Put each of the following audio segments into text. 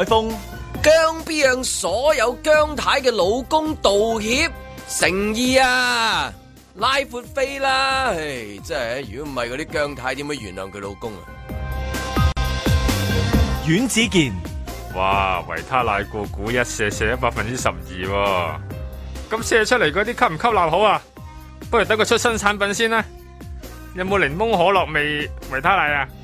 海峰， 姜 B 向所有姜太嘅老公道歉，誠意啊！拉闊飛啦，唉，真係如果唔係嗰啲姜太點會原諒佢老公啊？ 阮子健， 哇，維他奶個股一射射咗12%喎，咁射出嚟嗰啲吸唔吸納好啊？不如等佢出新產品先啦。有冇檸檬可樂味維他奶啊？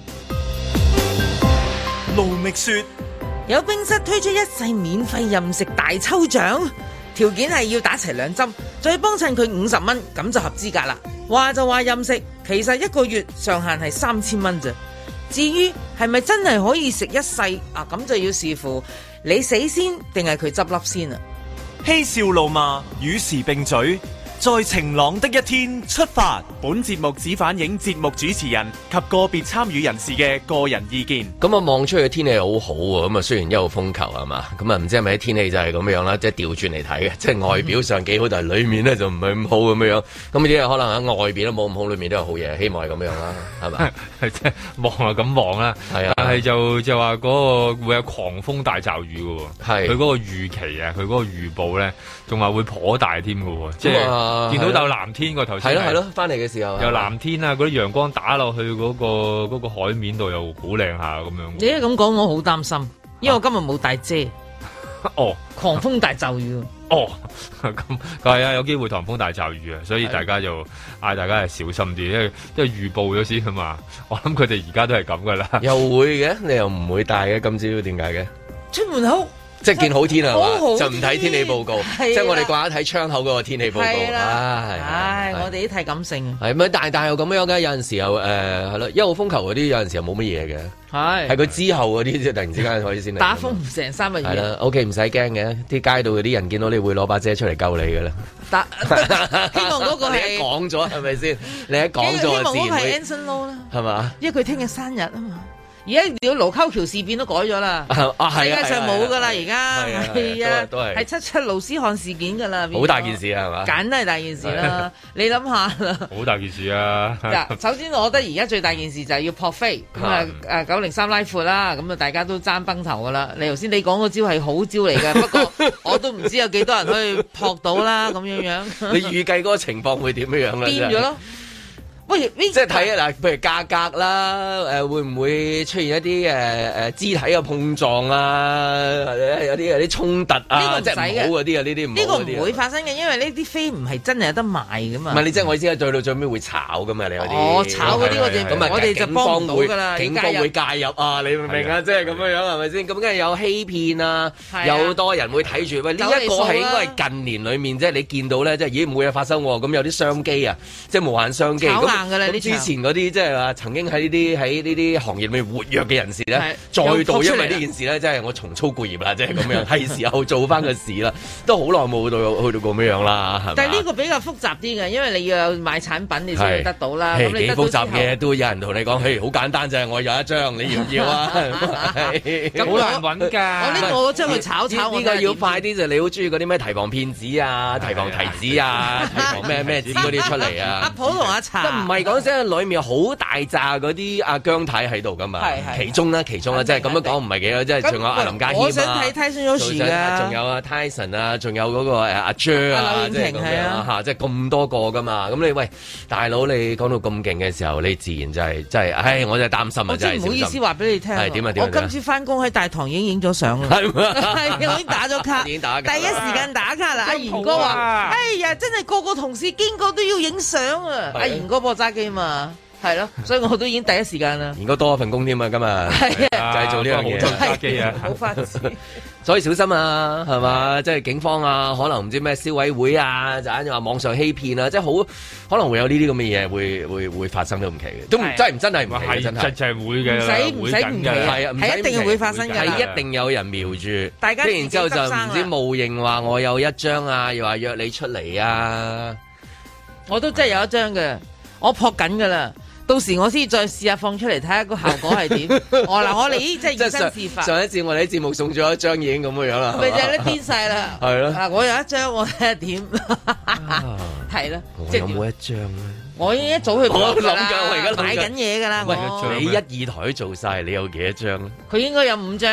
盧覓雪， 有冰室推出一世免費任食大抽獎，條件係要打齊2針，再幫襯佢50蚊，咁就合資格啦。話就話任食，其實1個月上限係3000蚊啫。至於係咪真係可以食一世啊？咁就要視乎你死先定係佢執笠先啊！ 嬉笑怒罵與時並舉，在晴朗的一天出發。本節目只反映節目主持人及個別參與人士嘅個人意見。 咁啊，望出去嘅天氣好好喎，咁啊雖然1號風球係嘛，咁啊唔知係咪啲天氣就係咁樣啦，即係調轉嚟睇嘅，即係外表上幾好，但係裡面咧就唔係咁好咁樣。咁呢啲可能喺外邊都冇咁好，裡面都有好嘢，希望係咁樣啦，係咪？ 係即係望就咁望啦，係啊，但係就話嗰個會有狂風大驟雨嘅喎，係佢嗰個預期啊，佢嗰個預報咧，仲話會頗大添嘅喎，即係見到有藍天個頭先係咯，翻嚟嘅時候有藍天啊，嗰啲陽光打落去嗰個海面度又好靚下咁樣。 你一咁講，我好擔心，因為我今日冇帶遮。 哦， 狂風大驟雨。 哦，咁係啊，有機會狂風大驟雨啊，所以大家就嗌大家係小心啲，因為預報咗先啊嘛。我諗佢哋而家都係咁噶啦。 又會嘅，你又唔會帶嘅，今朝點解嘅？ 出門口。 即係見好天係嘛，就唔睇天氣報告， 即係我哋掛一睇窗口嗰個天氣報告。 唉，我哋都太感性。 係咪？但係又咁樣嘅，有陣時候係咯，1號風球嗰啲有陣時候冇乜嘢嘅。係佢之後嗰啲即係突然之間可以先嚟。打風唔成3日。係啦 ，OK 唔使驚嘅，啲街道嗰啲人見到你會攞把遮出嚟救你嘅啦。 希望嗰個係你一講咗係咪先？你一講咗自然會。希望嗰個係 Anson Lo 啦。 係嘛？ 因為佢聽日生日啊嘛。而家條盧溝橋事變都改咗啦，世界上冇噶啦，而家係啊，係77盧斯漢事件噶啦， 好大件事啊，係嘛？梗係大件事啦，你諗下啦， 好大件事啊！ 嗱，首先我覺得而家最大件事就係要撲飛，咁啊903拉闊啦，咁啊大家都爭崩頭噶啦。你頭先你講嗰招係好招嚟嘅，不過我都唔知有幾多人可以撲到啦，咁樣樣。 你預計嗰個情況會點樣樣咧？ 變咗咯。喂，即係睇啊嗱，譬如價格啦，會唔會出現一啲肢體嘅碰撞啊？或者有啲衝突啊？呢個即係唔好嗰啲啊，呢啲唔好嗰啲。呢個唔會發生嘅，因為呢啲飛唔係真係有得賣噶嘛。 唔係你即係我意思係對到最尾會炒噶嘛？你有啲炒嗰啲我哋就幫唔到㗎啦。 警方會介入啊！你明唔明啊？即係咁樣樣係咪先？咁梗係有欺騙啊！有好多人會睇住喂，呢一個係應該係近年裡面即係你見到咧，即係咦冇嘢發生喎。咁有啲商機啊，即係無限商機。之前嗰啲即係話曾經喺呢啲行業裏面活躍嘅人士咧，再度因為呢件事咧，即係我重操故業啦，即係咁樣，係時候做翻個事啦，都好耐冇去到咁樣啦，係咪？ 但係呢個比較複雜啲嘅，因為你要有買產品你先得到啦。咁你幾複雜嘅都有人同你講，嘿，好簡單啫，我有一張，你要唔要啊？ 咁好難揾㗎。 我呢個將佢炒， 呢個要快啲就你好中意嗰啲咩提防騙子啊、提防提子啊、提防咩子嗰啲出嚟啊。 阿普同阿茶， 唔係講真，裏面好大扎嗰啲阿姜太喺度噶嘛，其中啦，即係咁樣講唔係幾多，即係仲有阿林家謙啊， 我想睇 Tyson Yoshi 㗎， 仲有阿 Tyson 啊，仲有嗰個阿 Jer 啊，即係咁樣嚇，即係咁多個噶嘛。咁你喂大佬，你講到咁勁嘅時候，你自然就係真係，唉，我真係擔心啊，真係。 唔好意思話俾你聽， 係點啊？ 我今次翻工喺大堂已經影咗相啦，係我已經打咗卡，第一時間打卡啦。阿賢哥話：哎呀，真係個個同事經過都要影相啊！阿賢哥幫我揸機嘛。係咯，所以我都已經第一時間啦。而家多一份工添啊，今日就係做呢樣嘢，揸機啊，好發展。所以小心啊，係嘛？即係警方啊，可能唔知咩消委會啊，就話網上欺騙啊，即係好可能會有呢啲咁嘅嘢會發生都唔奇嘅，都真係唔奇，真係係會嘅， 唔使唔奇，係啊，係一定會發生嘅， 係一定有人瞄住， 大家然之後就唔知冒認話我有一張啊，又話約你出嚟啊， 我都真係有一張嘅，我撲緊噶啦。到時我先再試下放出嚟睇下個效果係點。我哋即係以身試法。上一次我哋啲節目送咗一張已經咁嘅樣啦，咪就係咧癲晒啦。係咯。嗱，我有一張，我睇下點。係啦。 我有冇一張咧？ 我已經一早去我諗緊，我而家買緊嘢㗎啦。 喂，你1、2台做晒，你有幾多張咧？ 佢應該有5張。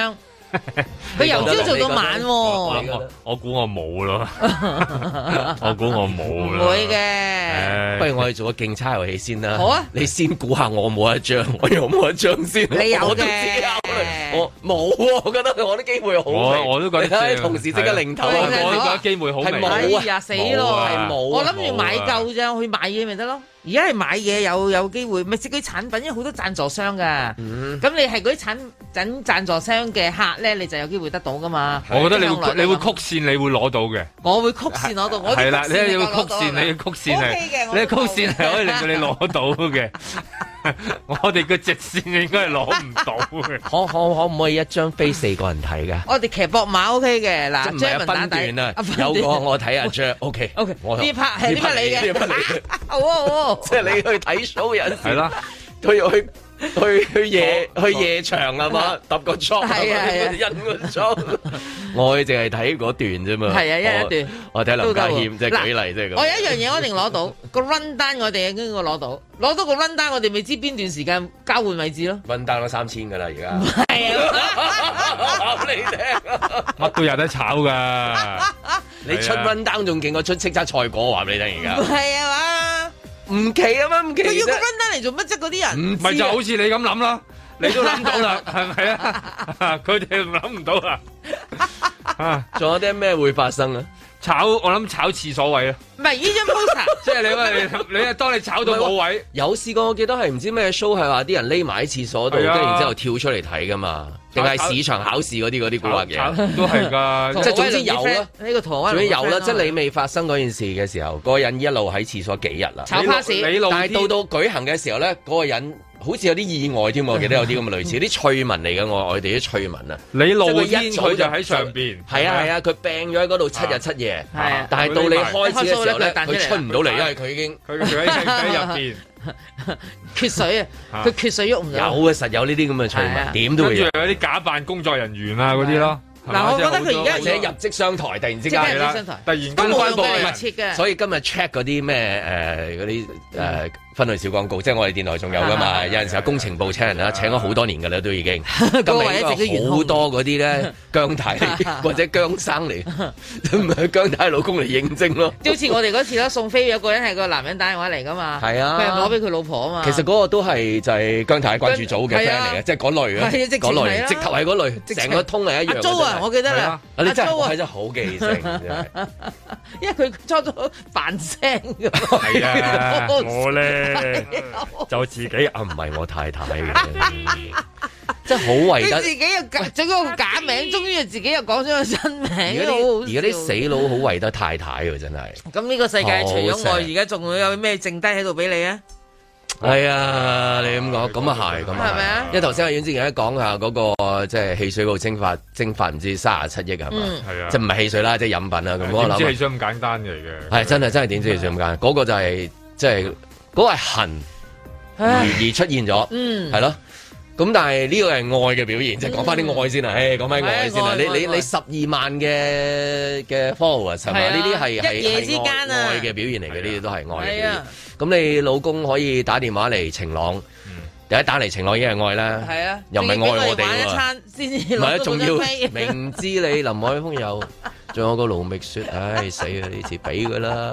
佢由朝做到晚喎。 我估我冇咯，我估我冇唔會嘅。 不如我哋做個競猜遊戲先啦。 好啊， 你先估下我冇一張，我有冇一張先？ 你有嘅。 我冇喎，我覺得我啲機會好微。我都覺得同時即刻零頭， 我都覺得機會好微。 係冇啊， 死咯， 係冇。我諗住買夠啫，我去買嘢咪得咯。而家係買嘢有機會，咪食嗰啲產品，因為好多贊助商噶。咁你係嗰啲贊助商嘅客咧，你就有機會得到噶嘛。 我覺得你會曲線，你會攞到嘅。 我會曲線攞到， 係啦，你要曲線，你曲線係，你曲線係可以令到你攞到嘅。我哋嘅直線應該係攞唔到嘅。 可唔可以一張飛4個人睇㗎？ 我哋騎膊馬 OK 嘅，嗱， 即係分段啊，有個我睇下張 OK。呢 part 係呢 part 你嘅，好。 即係你去睇 show 有陣時， 係啦， 去夜場係嘛，揼個裝，印個裝。我淨係睇嗰段啫嘛。係啊，一段。我睇林家謙，即係舉例，即係咁。 我有一樣嘢我一定攞到個 run down，我哋應該攞到個 run down，我哋未知邊段時間交換位置咯。 run down 都3000㗎啦，而家。係啊，你聽， 乜都有得炒㗎。 你出 run down 仲勁過出叱咤賽果，話俾你聽而家。 係啊嘛。 唔奇啊嘛，唔奇。 佢要個 run down 嚟做乜啫？嗰啲人唔係就好似你咁諗啦，你都諗到啦，係咪啊？佢哋諗唔到啊！ 仲有啲咩會發生啊？ 我諗炒廁所位啊！ 唔係呢張 poster， 即係你當你炒到冇位， 有試過我記得係唔知咩 show 係話啲人匿埋喺廁所度，跟住然之後跳出嚟睇噶嘛？定係市場考試嗰啲古惑嘢？都係㗎，即係總之有啦。呢個台灣總之有啦，即係你未發生嗰件事嘅時候，嗰個人一路喺廁所幾日啦。 炒 pass， 但係到舉行嘅時候咧，嗰個人好似有啲意外添，我記得有啲咁嘅類似啲趣聞嚟嘅，我哋啲趣聞啊。 你露天佢就喺上邊， 係啊，佢病咗喺嗰度7日7夜，但係到你開始嘅時候咧，佢出唔到嚟，因為佢已經佢喺入邊缺水啊，佢缺水喐唔到。 有啊，實有呢啲咁嘅趣聞，點都會有。 跟住有啲假扮工作人員啊嗰啲咯。 嗱，我覺得佢而家或者入職商台，突然之間突然間關播密切嘅， 所以今日 check 嗰啲咩嗰啲分類小廣告，即係我哋電台仲有噶嘛？有陣時候工程部請人啦，請咗好多年噶啦，都已經。今日應該好多嗰啲咧姜太或者姜生嚟，唔係姜太老公嚟應徵咯。 好似我哋嗰次啦，送飛有個人係個男人打電話嚟噶嘛， 係啊， 佢攞俾佢老婆啊嘛。 其實嗰個都係就係姜太關注組嘅 friend 嚟嘅，即係嗰類啊，嗰類直頭係嗰類，成個通係一樣。阿 Jo 啊，我記得啦， 阿 Jo 啊，真係好記性， 因為佢初咗扮聲㗎。 係啊，我咧。就自己唔係我太太嘅， 真係好為得。 自己又整咗個假名，終於自己又講咗個真名。 而家啲死佬好為得太太喎，真係。 咁呢個世界除咗愛，而家仲會有咩剩低喺度俾你啊？ 係啊，你咁講，咁啊係，咁啊係咪啊？因為頭先阿阮之前講下嗰個即係汽水嗰度蒸發唔知37億係嘛？係啊，即係唔係汽水啦，即係飲品啊咁。我諗。點知汽水咁簡單嚟嘅？係真係點知汽水咁簡單？嗰個就係即係。嗰個係恨而出現咗，係咯。咁但係呢個係愛嘅表現，即係講翻啲愛先啦。講翻愛先啦。你12萬嘅 followers 係嘛？呢啲係一夜之間愛嘅表現嚟嘅，呢啲都係愛嘅表現。咁你老公可以打電話嚟晴朗，第一打嚟晴朗已經係愛啦。係啊，又唔係愛我哋喎。唔係啊，仲要明知你林海峰有。仲有個盧覓雪，唉死啊！呢次俾佢啦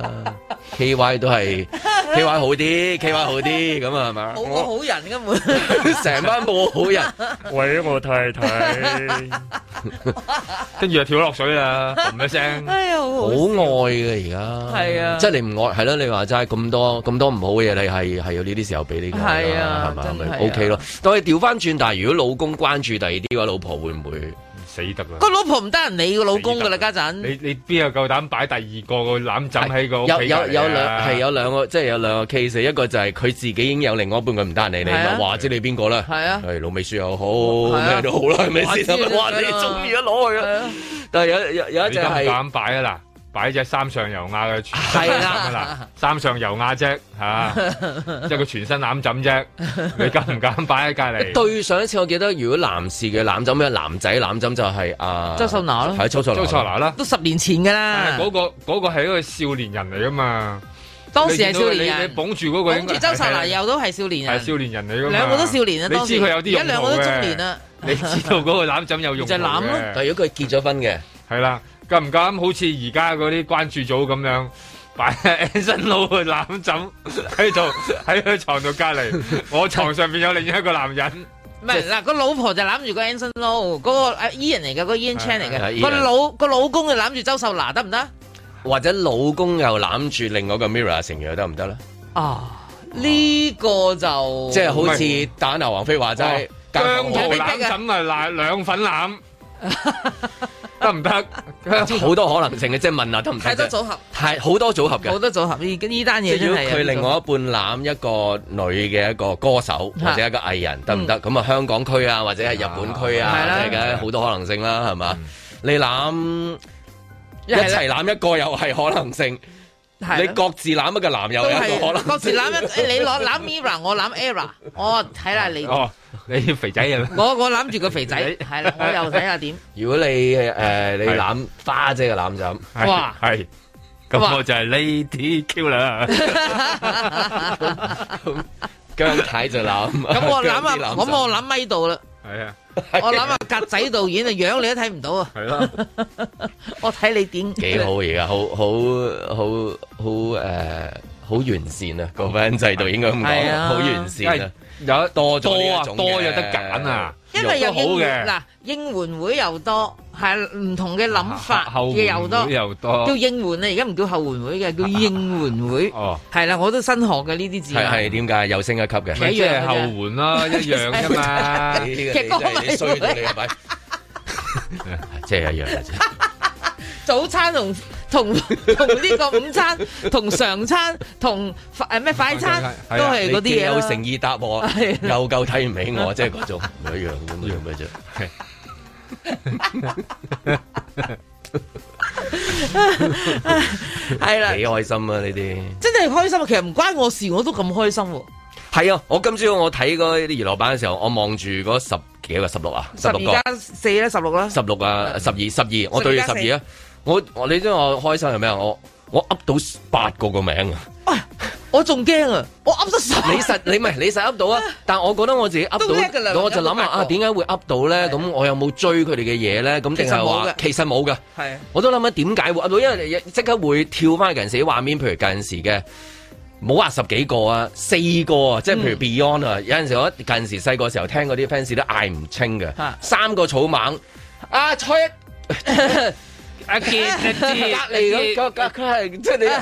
，KY 都係 KY 好啲，KY 好啲咁啊，係嘛？ 冇個好人根本， 成班冇好人， 為咗我太太，跟住就跳落水啦，嘣一聲， 哎呀， 好愛嘅而家，係啊，即係你唔愛，係咯？你話齋咁多唔好嘅嘢，你係有呢啲時候俾呢個，係啊，係咪 OK 咯？但係調翻轉，但係如果老公關注第二啲嘅話，老婆會唔會？死得啦！個老婆唔得人理個老公噶啦，家陣你邊有夠膽擺第二個攬枕喺個屋企？ 有兩個，即係有兩個 case，一個就係佢自己已經有另外一半，佢唔得人理你，咪話知你邊個啦？係啊，係盧美雪又好，咩都好啦，係咪先？哇！你中意一攞去啊！但係有一隻係敢擺啊嗱！擺隻三上悠亞嘅全身啦，三上悠亞啫嚇，即係個全身攬枕啫。你敢唔敢擺喺隔離？ 對上一次我記得，如果男士嘅攬枕，咩男仔攬枕就係周秀娜咯， 係周秀娜啦， 都10年前㗎啦。 嗰個係一個少年人嚟㗎嘛。 當時係少年人， 你捧住嗰個， 捧住周秀娜又都係少年人， 係少年人嚟㗎嘛。 兩個都少年啊， 你知佢有啲而家兩個都中年啦。 你知道嗰個攬枕有用就攬咯。 但如果佢結咗婚嘅， 係啦，夠唔夠好似而家嗰啲關注組咁樣擺 Anson Lo 嘅攬枕喺度喺佢床度隔離，我床上面有另一個男人。 唔係嗱，個老婆就攬住個 Anson Lo，嗰個Ian 嚟嘅，嗰個 Ian Chan 嚟嘅。個老公就攬住周秀娜，得唔得？ 或者老公又攬住另外一個 Mirror 成員，得唔得咧？ 呢個就即係好似打牛王菲話齋， 姜濤攬枕啊，兩份攬。得唔得？ 好多可能性嘅，即係問下得唔得？ 太多組合， 好多組合嘅， 好多組合呢單嘢。 如果佢另外一半攬一個女嘅一個歌手或者一個藝人，得唔得？咁啊香港區啊，或者係日本區啊，即係嘅好多可能性啦，係嘛？你攬一齊攬一個又係可能性。你各自攬一個男友有一個可能， 各自攬你攞攬 Mirror， 我攬 Era， 我睇下你。 你肥仔啊！ 我攬住個肥仔，係啦，我又睇下點。 如果你你攬花姐嘅攬枕， 哇， 係，咁我就係 Lady Q 啦。 姜太就攬， 咁我攬咪度啦。 係啊， 我諗下格仔導演啊，樣你都睇唔到啊。係咯，我睇你點幾好而家，好完善啊！個婚姻制度應該咁講，好完善啊！ 有多咗多有得揀啊！ 因為有應嘅嗱應援會又多，係唔同嘅諗法嘅又多，叫應援啊！而家唔叫後援會嘅，叫應援會。哦，係啦，我都新學嘅呢啲字。係點解又升一級嘅？ 即係後援啦，一樣㗎嘛。 你衰到你係咪？即係一樣嘅啫。 早餐同呢個午餐同常餐同咩快餐都係嗰啲嘢， 有誠意答我，又夠睇唔起我，即係嗰種唔一樣咁樣嘅啫。係啦，幾開心啊！呢啲真係開心啊！其實唔關我事，我都咁開心。 係啊！我今朝我睇嗰啲娛樂版嘅時候，我望住嗰10幾個16啊，16個 12+4啦，16啦 ，16啊，12，我對住12啊！我你知我開心係咩啊？我噏到8個名啊！ 我仲驚啊！我噏得晒。 你實噏到啊！但係我覺得我自己噏到，我就諗下點解會噏到咧？咁我有冇追佢哋嘅嘢咧？咁定係話其實冇嘅。係，我都諗下點解會噏到，因為即刻會跳翻近時啲畫面，譬如近時嘅。冇話10幾個啊，4個啊，即係譬如 Beyond 啊，有陣時我近時細個時候聽嗰啲 fans 都嗌唔清嘅，3個草蜢啊，蔡阿傑隔離咁，佢係即係你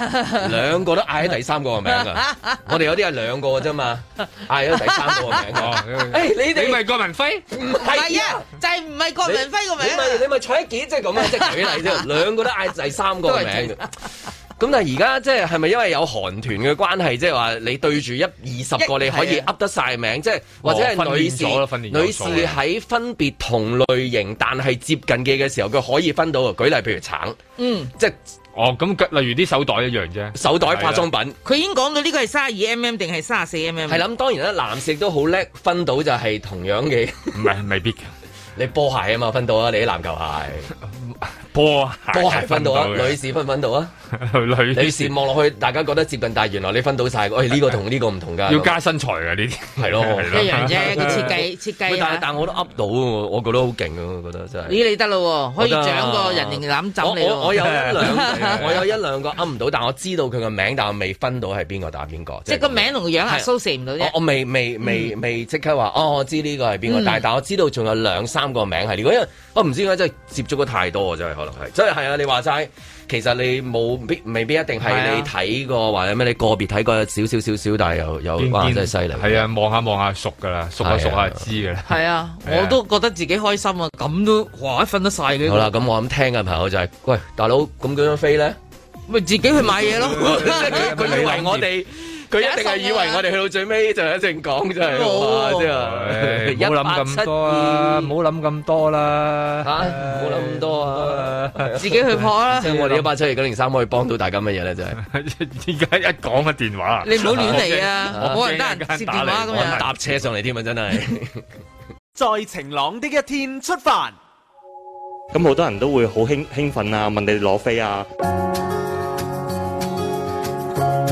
2個都嗌喺第3個嘅名啊！我哋有啲係2個嘅啫嘛，嗌咗第3個嘅名。你咪郭文輝？唔係啊，就係唔係郭文輝個名？你咪蔡傑，即係咁啊！即係舉例啫，2個都嗌第3個嘅名。咁但係而家即係咪因為有韓團嘅關係，即係話你對住20個你可以噏得晒名，即係或者係女士喺分別同類型但係接近嘅時候，佢可以分到。舉例譬如橙，即係咁例如啲手袋一樣啫， 手袋化妝品， 佢已經講到呢個係32mm 定係34mm。係啦，當然啦，男士都好叻分到就係同樣嘅， 唔係未必。 你波鞋啊嘛分到啊，你啲籃球鞋。 波鞋分到啊，女士分到啊，女士望落去，大家覺得接近，但係原來你分到晒，呢個同呢個唔同㗎， 要加身材㗎呢啲，係咯， 一樣啫，個設計。 但我都噏到，我覺得好勁啊，我覺得真係。 咦，你得咯，可以獎個人形攬枕你。 我有一兩個噏唔到，但我知道佢個名，但我未分到係邊個打邊個。 即係個名同個樣係蘇射唔到啫。 我未即刻話，我知呢個係邊個，但我知道仲有2-3個名係呢個，因為我唔知點解真係接觸咗太多，真係可能係，真係啊！你話齋，其實你未必一定係你睇過或者咩，你個別睇過少，但係又哇真係犀利。係啊，望下熟㗎啦，熟下知㗎啦。 係啊，我都覺得自己開心啊！咁都哇分得晒嘅。 好啦，咁我諗聽嘅朋友就係，喂，大佬咁嗰張飛咧， 咪自己去買嘢咯。 佢以為我哋。佢一定係以為我哋去到最尾就一定講真係，即係唔好諗咁多啊！唔好諗咁多啦， 唔好諗咁多啊！ 自己去撲啦！ 即係我哋1872003可以幫到大家乜嘢咧？真係而家一講嘅電話， 你唔好亂嚟啊！冇人得閒接電話咁樣， 搭車上嚟添啊！真係。 在晴朗的一天出發， 咁好多人都會好興奮啊！問你哋攞飛啊！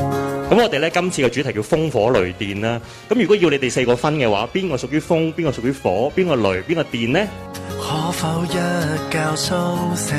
咁我哋咧今次嘅主題叫風火雷電啦。咁如果要你哋4個分嘅話，邊個屬於風，邊個屬於火，邊個雷，邊個電呢？ 可否一覺蘇醒，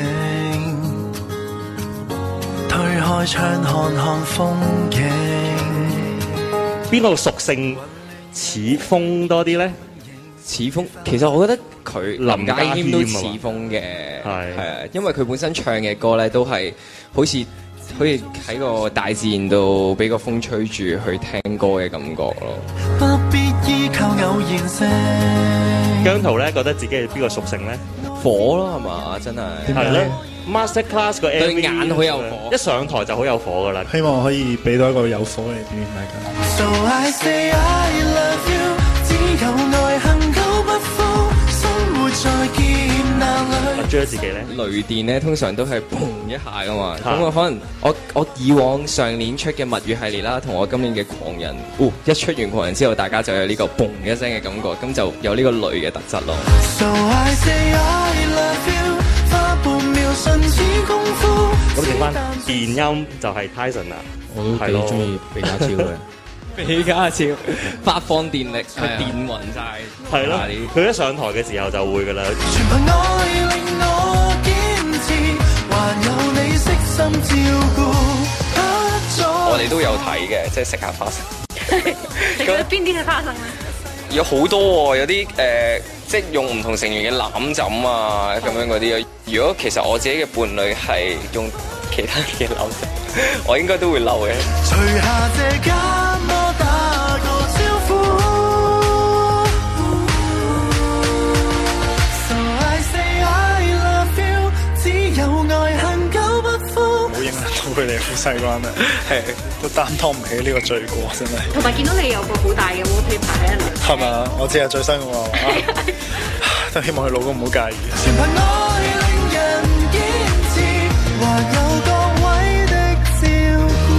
推開窗看看風景？ 邊個屬性似風多啲咧？ 似風，其實我覺得佢林家謙都似風嘅， 係啊，因為佢本身唱嘅歌咧都係好似喺個大自然度俾個風吹住去聽歌嘅感覺咯。 不必依靠偶然性。 姜濤咧覺得自己係邊個屬性咧？ 火咯，係嘛？真係係咧。Master Class 個 MV 對眼好有火， 一上台就好有火噶啦。 希望可以俾到一個有火嘅表現大家。 So I say I love you， 只有愛恨久不負，生活在劫難裏。 阿 Jer 自己咧， 雷電咧通常都係砰一下噶嘛。咁我可能我以往上年出嘅蜜月系列啦，同我今年嘅狂人，一出完狂人之後，大家就有呢個砰一聲嘅感覺，咁就有呢個雷嘅特質咯。 So I say I love you， 花半秒瞬似功夫。 咁剩翻電音就係 Tyson 啦， 我都幾中意比家超嘅。 比家超發放電力，佢電暈晒， 係咯。佢一上台嘅時候就會噶啦。 全憑愛令我堅持，還有你悉心照顧。 我哋都有睇嘅，即係食下花生。 你覺得邊啲係花生咧？ 有好多喎，有啲即係用唔同成員嘅攬枕啊，咁樣嗰啲。如果其實我自己嘅伴侶係用其他嘅攬枕，我應該都會嬲嘅。 除下這緘我打個招呼。So I say I love you， 只有愛恨久不負。 冇影響到佢哋好細個啦，係都擔當唔起呢個罪過，真係。 同埋見到你有個好大嘅 wallpaper 喺度。 係咪？我知係最新嘅喎，都希望佢老公唔好介意。 全憑愛令人堅持，還有各位的照顧。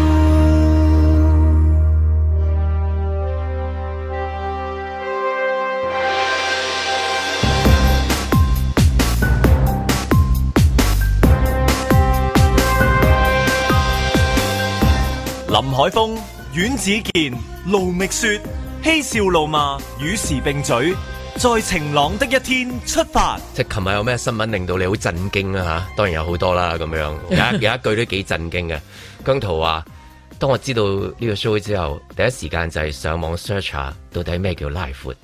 林海峰、阮子健、盧覓雪，嬉笑怒罵，與時並舉，在晴朗的一天出發。 即係琴日有咩新聞令到你好震驚啊？嚇，當然有好多啦，咁樣有一句都幾震驚嘅。姜濤話：當我知道呢個 show 之後，第一時間就係上網 search 下到底咩叫拉闊。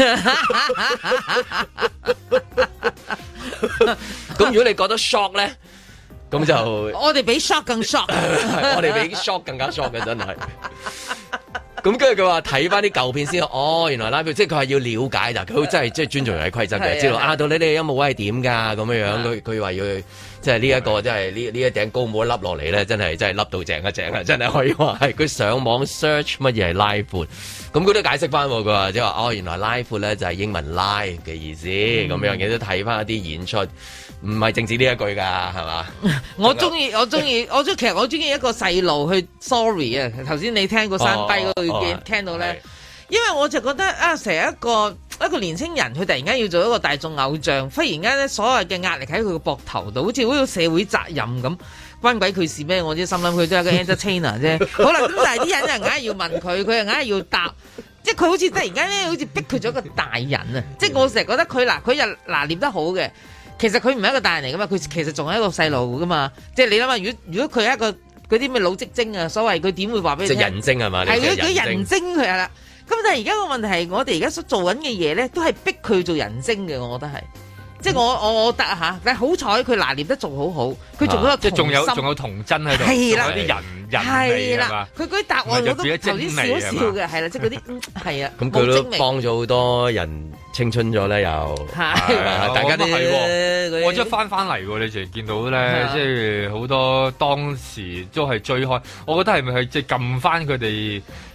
咁如果你覺得 shock 咧？咁就我哋比 shock 更 shock， 我哋比 shock 更加 shock 嘅真係。咁跟住佢話睇翻啲舊片先，原來拉票，即係佢係要了解，但佢真係即係尊重遊戲規則嘅，知道到你哋音樂位係點㗎咁樣。佢話要即係呢一個，即係呢一頂高帽一笠落嚟咧，真係笠到正一正啊！真係可以話係佢上網 search 乜嘢係拉闊，咁佢都解釋翻喎。佢話即係話原來拉闊咧就係英文 live 嘅意思，咁樣亦都睇翻一啲演出。唔係淨止呢一句㗎，係嘛？我中意，其實我中意一個細路去 sorry 啊！頭先你聽個山低嗰度已經聽到咧，因為我就覺得成日一個年青人，佢突然間要做一個大眾偶像，忽然間咧所有嘅壓力喺佢個膊頭度，好似社會責任咁，關鬼佢事咩？我啲心諗佢都係個 entertainer 啫。好啦，咁但係啲人又硬係要問佢，佢又硬係要答，即係佢好似突然間咧，好似逼佢咗一個大人啊！即係我成日覺得佢又拿捏得好嘅。其實佢唔係一個大人嚟噶嘛，佢其實仲係一個細路噶嘛。即係你諗下，如果佢係一個嗰啲咩老職精啊，所謂佢點會話俾你聽？即係人精係嘛？係佢人精佢係啦。咁但係而家個問題係，我哋而家所做緊嘅嘢咧，都係逼佢做人精嘅。我覺得係，即係我得嚇，但係好彩佢拿捏得仲好好，佢仲有即係仲有童真喺度，係啦，有啲人味係嘛？佢嗰啲答案我都頭先笑一笑嘅，係啦，即係嗰啲係啊。咁佢都幫咗好多人。青春咗咧，又大家都係， 我即係翻嚟喎。你成日見到咧，即係好多當時都係追開。我覺得係咪係即係撳翻佢哋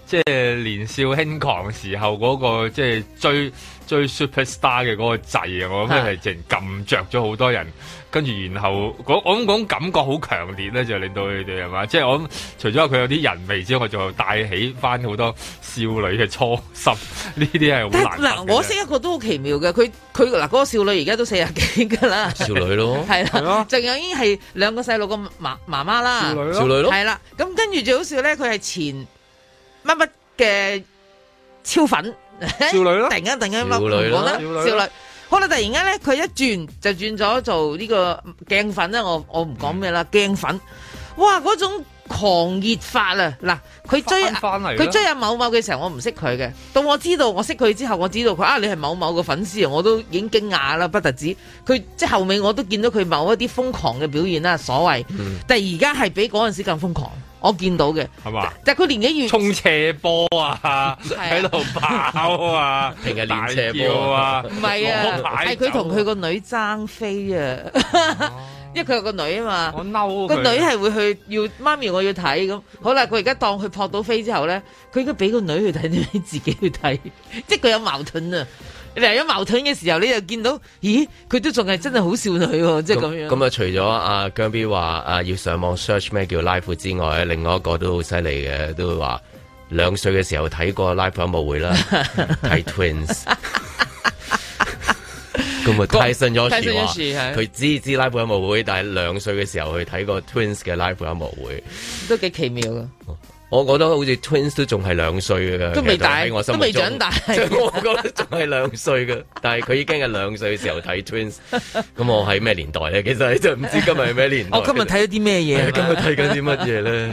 即係年少輕狂時候嗰個即係追 superstar 嘅嗰個掣啊！我諗係淨撳着咗好多人，跟住然後我諗嗰感覺好強烈咧，就令到佢哋係嘛？即係我諗除咗佢有啲人味之外，就帶起翻好多少女嘅初心。呢啲係好難。 嗱，我識一個都好奇妙嘅，佢嗱嗰個少女而家都40幾㗎啦， 少女咯， 係啦，仲有已經係2個細路個媽媽啦， 少女咯， 係啦。咁跟住最好笑咧，佢係前乜乜嘅超粉。 少女咯， 突然間少女啦， 少女，好啦，突然間咧，佢一轉就轉咗做呢個鏡粉啦，我唔講咩啦，鏡粉，哇，嗰種狂熱法啊！嗱，佢追阿某某嘅時候，我唔識佢嘅，到我知道我識佢之後，我知道佢你係某某嘅粉絲啊，我都已經驚訝啦，不特止，佢即係後尾我都見到佢某一啲瘋狂嘅表現啦，所謂，但係而家係比嗰陣時更瘋狂。我見到嘅係嘛？但係佢年紀越衝斜坡啊，喺度跑啊， 平日練斜坡啊， 唔係啊，係佢同佢個女爭飛啊，因為佢有個女啊嘛， 我嬲個女係會去要媽咪我要睇咁，好啦，佢而家當佢撲到飛之後咧，佢應該俾個女去睇定俾自己去睇，即係佢有矛盾啊！有矛盾嘅時候，你就見到，咦？佢都仲係真係好少女喎，即係咁樣。 咁啊，除咗阿姜 B 話要上網 search 咩叫 live 之外，另外一個都好犀利嘅，都會話2歲嘅時候睇過 live 音樂會啦，睇 Twins。咁啊，泰森咗時話佢知 live 音樂會，但係2歲嘅時候去睇過 Twins 嘅 live 音樂會， 都幾奇妙啊！ 我覺得好似 Twins 都仲係2歲嘅， 都未大， 我心都未長大。 我覺得仲係2歲嘅，但係佢已經係2歲嘅時候睇 Twins。咁我喺咩年代咧？其實就唔知今日係咩年代。 我今日睇咗啲咩嘢？ 今日睇緊啲乜嘢咧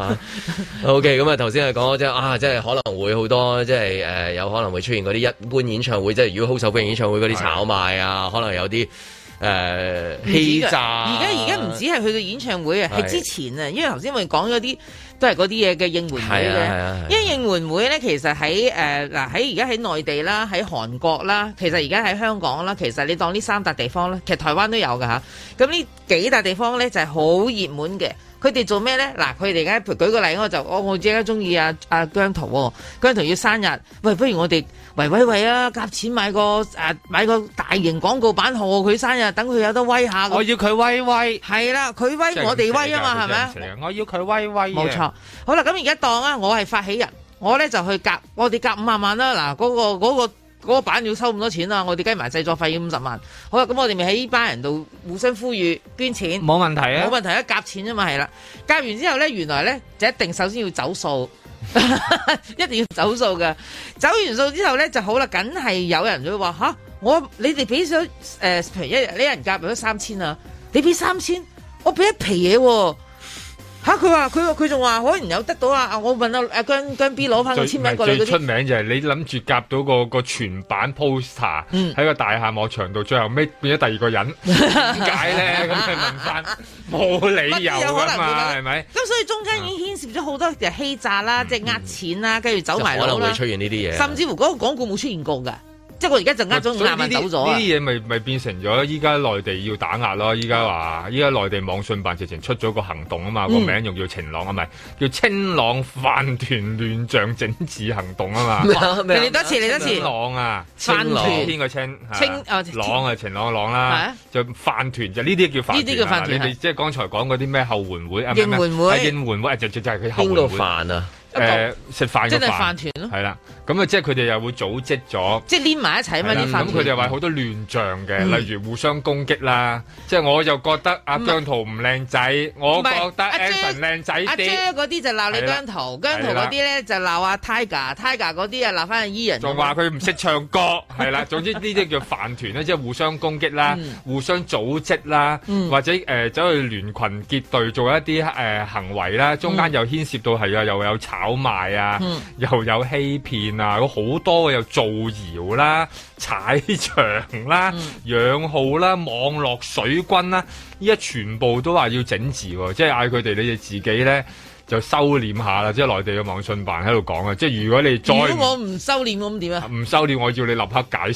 ？OK，咁啊頭先係講即係即係可能會好多即係有可能會出現嗰啲一般演唱會，即係如果好受歡迎演唱會嗰啲炒賣啊，可能有啲。欺詐， 而家唔止係去到演唱會啊，係之前啊，因為頭先我哋講咗啲都係嗰啲嘢嘅應援會嘅，因為應援會咧其實喺喺而家喺內地啦，喺韓國啦，其實而家喺香港啦，其實你當呢3笪地方咧，其實台灣都有噶嚇，咁呢幾笪地方咧就係好熱門嘅。佢哋做咩咧？嗱，佢哋而家舉個例，我自己中意阿姜濤，姜濤要生日，喂，不如我哋喂啊，夾錢買個大型廣告版賀佢生日，等佢有得威下。 我要佢威， 係啦，佢威我哋威啊嘛，係咪啊？ 我要佢威，冇錯。好啦，咁而家當啊，我係發起人，我咧就去夾，我哋夾50萬啦。嗱，嗰個版要收咁多錢啊！我哋計埋製作費要50萬。好啦，咁我哋咪喺呢班人度互相呼籲捐錢， 冇問題啊！ 冇問題啊！夾錢啊嘛，係啦。夾完之後咧，原來咧就一定首先要走數，一定要走數㗎。走完數之後咧就好啦，梗係有人會話吓，你哋俾咗譬如一人夾咗3000啊，你俾3000，我俾一皮嘢喎。佢仲話可能有得到我問阿姜 B 攞翻個簽名過嚟嗰啲。 最出名就係你諗住夾到個全版 poster 喺個大廈幕牆度，最後尾變咗第二個人，點解咧？咁佢問翻，冇理由㗎嘛，係咪？ 咁所以中間已經牽涉咗好多嘅欺詐啦，即係呃錢啦，跟住走埋佬啦。 可能會出現呢啲嘢， 甚至乎嗰個廣告冇出現過㗎。即係我而家就呃咗50萬走咗呢啲嘢咪變成咗依家內地要打壓咯。依家內地網信辦直情出咗個行動啊嘛，個名用叫晴朗啊，咪叫清朗飯團亂象整治行動啊嘛。 嚟多次。 清朗啊， 飯團天個清朗啊，晴朗嘅朗啦，就飯團就呢啲叫飯團。呢啲叫飯團。你哋即係剛才講嗰啲咩後援會啊？應援會就係佢後援會。 邊個飯啊？ 食飯即係飯團咯， 係啦，咁啊，即係佢哋又會組織咗， 即係黏埋一齊啊嘛啲飯團。 咁佢哋話好多亂象嘅，例如互相攻擊啦。即係我就覺得阿姜濤唔靚仔，我覺得 Anson 靚仔啲。阿 J 嗰啲就鬧你姜濤，姜濤嗰啲咧就鬧阿 Tiger 嗰啲啊鬧翻阿 Ian。 仲話佢唔識唱歌，係啦。總之呢啲叫飯團咧，即係互相攻擊啦，互相組織啦，或者走去聯群結隊做一啲行為啦，中間又牽涉到係又有炒賣啊，又有欺騙啊，好多又造謠啦、踩場啦、養號啦、網絡水軍啦，依家全部都話要整治喎，即係嗌佢哋你哋自己咧就收斂下啦，即係內地嘅網信辦喺度講啊，即係如果我唔收斂咁點啊？唔收斂，我要你立刻解散。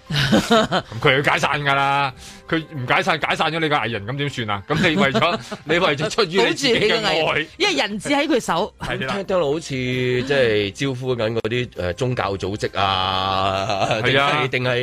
咁佢要解散㗎啦，佢唔解散咗你個藝人，咁點算啊？咁你為咗出於你自己嘅愛， 因為人質喺佢手， 聽到好似即係招呼緊嗰啲宗教組織啊，定係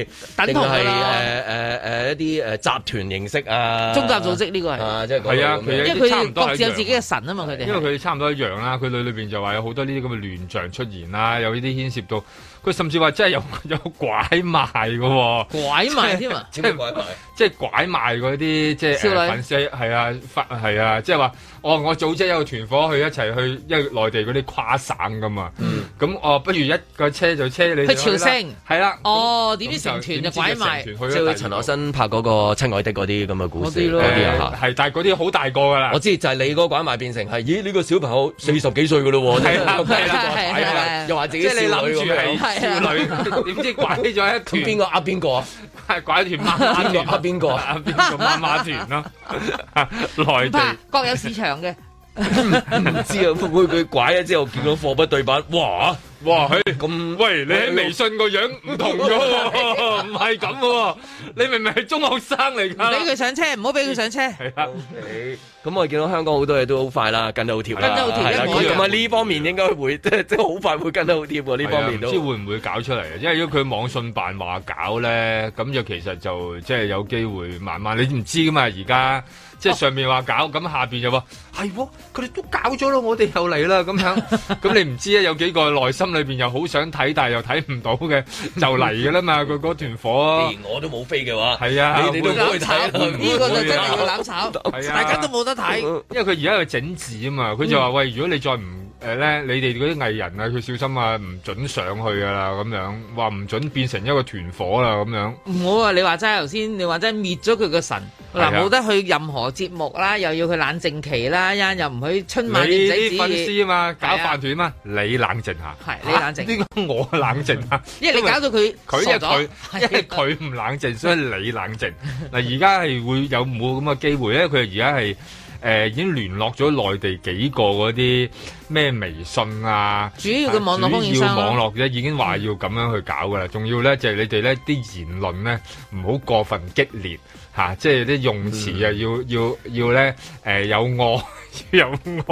一啲集團形式啊， 宗教組織呢個係即係係啊， 因為佢哋各自有自己嘅神啊嘛，佢哋因為佢哋差唔多一樣啦，佢裏邊就話有好多呢啲咁嘅亂象出現啦，有呢啲牽涉到。佢甚至話真係有拐賣嘅喎， 拐賣添啊！ 即係拐賣， 即係拐賣嗰啲即係粉絲係啊，即係話我組織有個團伙去一齊去，因為內地嗰啲跨省㗎嘛，咁不如一個車就車你去朝聖， 係啦， 點知成團就拐賣， 即係陳可辛拍嗰個親愛的嗰啲咁嘅故事嗰啲啊， 係，但係嗰啲好大個㗎啦。 我知就係你嗰個拐賣變成係，咦呢個小朋友40幾歲㗎咯喎，係啦，又話自己少女咁。少女點知拐咗一團？邊個呃邊個啊？拐一團媽媽團，呃邊個啊？邊個媽媽團咯？內地各有市場嘅， 唔知啊！會佢拐咗之後見到貨不對版，哇！咁喂，你喺微信個樣唔同咗喎，唔係咁喎，你明明係中學生嚟㗎， 俾佢上車，唔好俾佢上車。 係啊， 咁我見到香港好多嘢都好快啦，跟得好貼啦，咁啊呢方面應該會即係好快會跟得好貼喎，呢方面都唔知會唔會搞出嚟啊？因為如果佢網信辦話搞咧，咁就其實就即係有機會慢慢，你唔知㗎嘛而家。即係上面話搞，咁下邊就話係喎，佢哋都搞咗咯，我哋又嚟啦咁樣。咁你唔知啊？有幾個內心裏邊又好想睇，但係又睇唔到嘅，就嚟㗎啦嘛！佢嗰團火， 連我都冇飛嘅話， 係啊， 你哋都唔會睇。 呢個就真係要攬炒，大家都冇得睇。 因為佢而家有整治啊嘛，佢就話喂，如果你再唔咧，你哋嗰啲藝人啊，佢小心啊，唔準上去㗎啦，咁樣話唔準變成一個團火啦，咁樣。 唔好啊！你話齋頭先，你話齋滅咗佢個神，嗱冇得去任何節目啦，又要佢冷靜期啦，又唔去春晚點仔啲粉絲啊嘛，搞飯團嘛，你冷靜下。 係你冷靜。 點解我冷靜啊？ 因為你搞到佢傻咗。 因為佢唔冷靜，所以你冷靜。嗱，而家係會有冇咁嘅機會咧？佢而家係。已經聯絡咗內地幾個嗰啲咩微信啊， 主要嘅網絡供應商， 主要網絡咧已經話要咁樣去搞噶啦，仲要咧就係你哋咧啲言論咧唔好過分激烈嚇，即係啲用詞啊要咧有愛有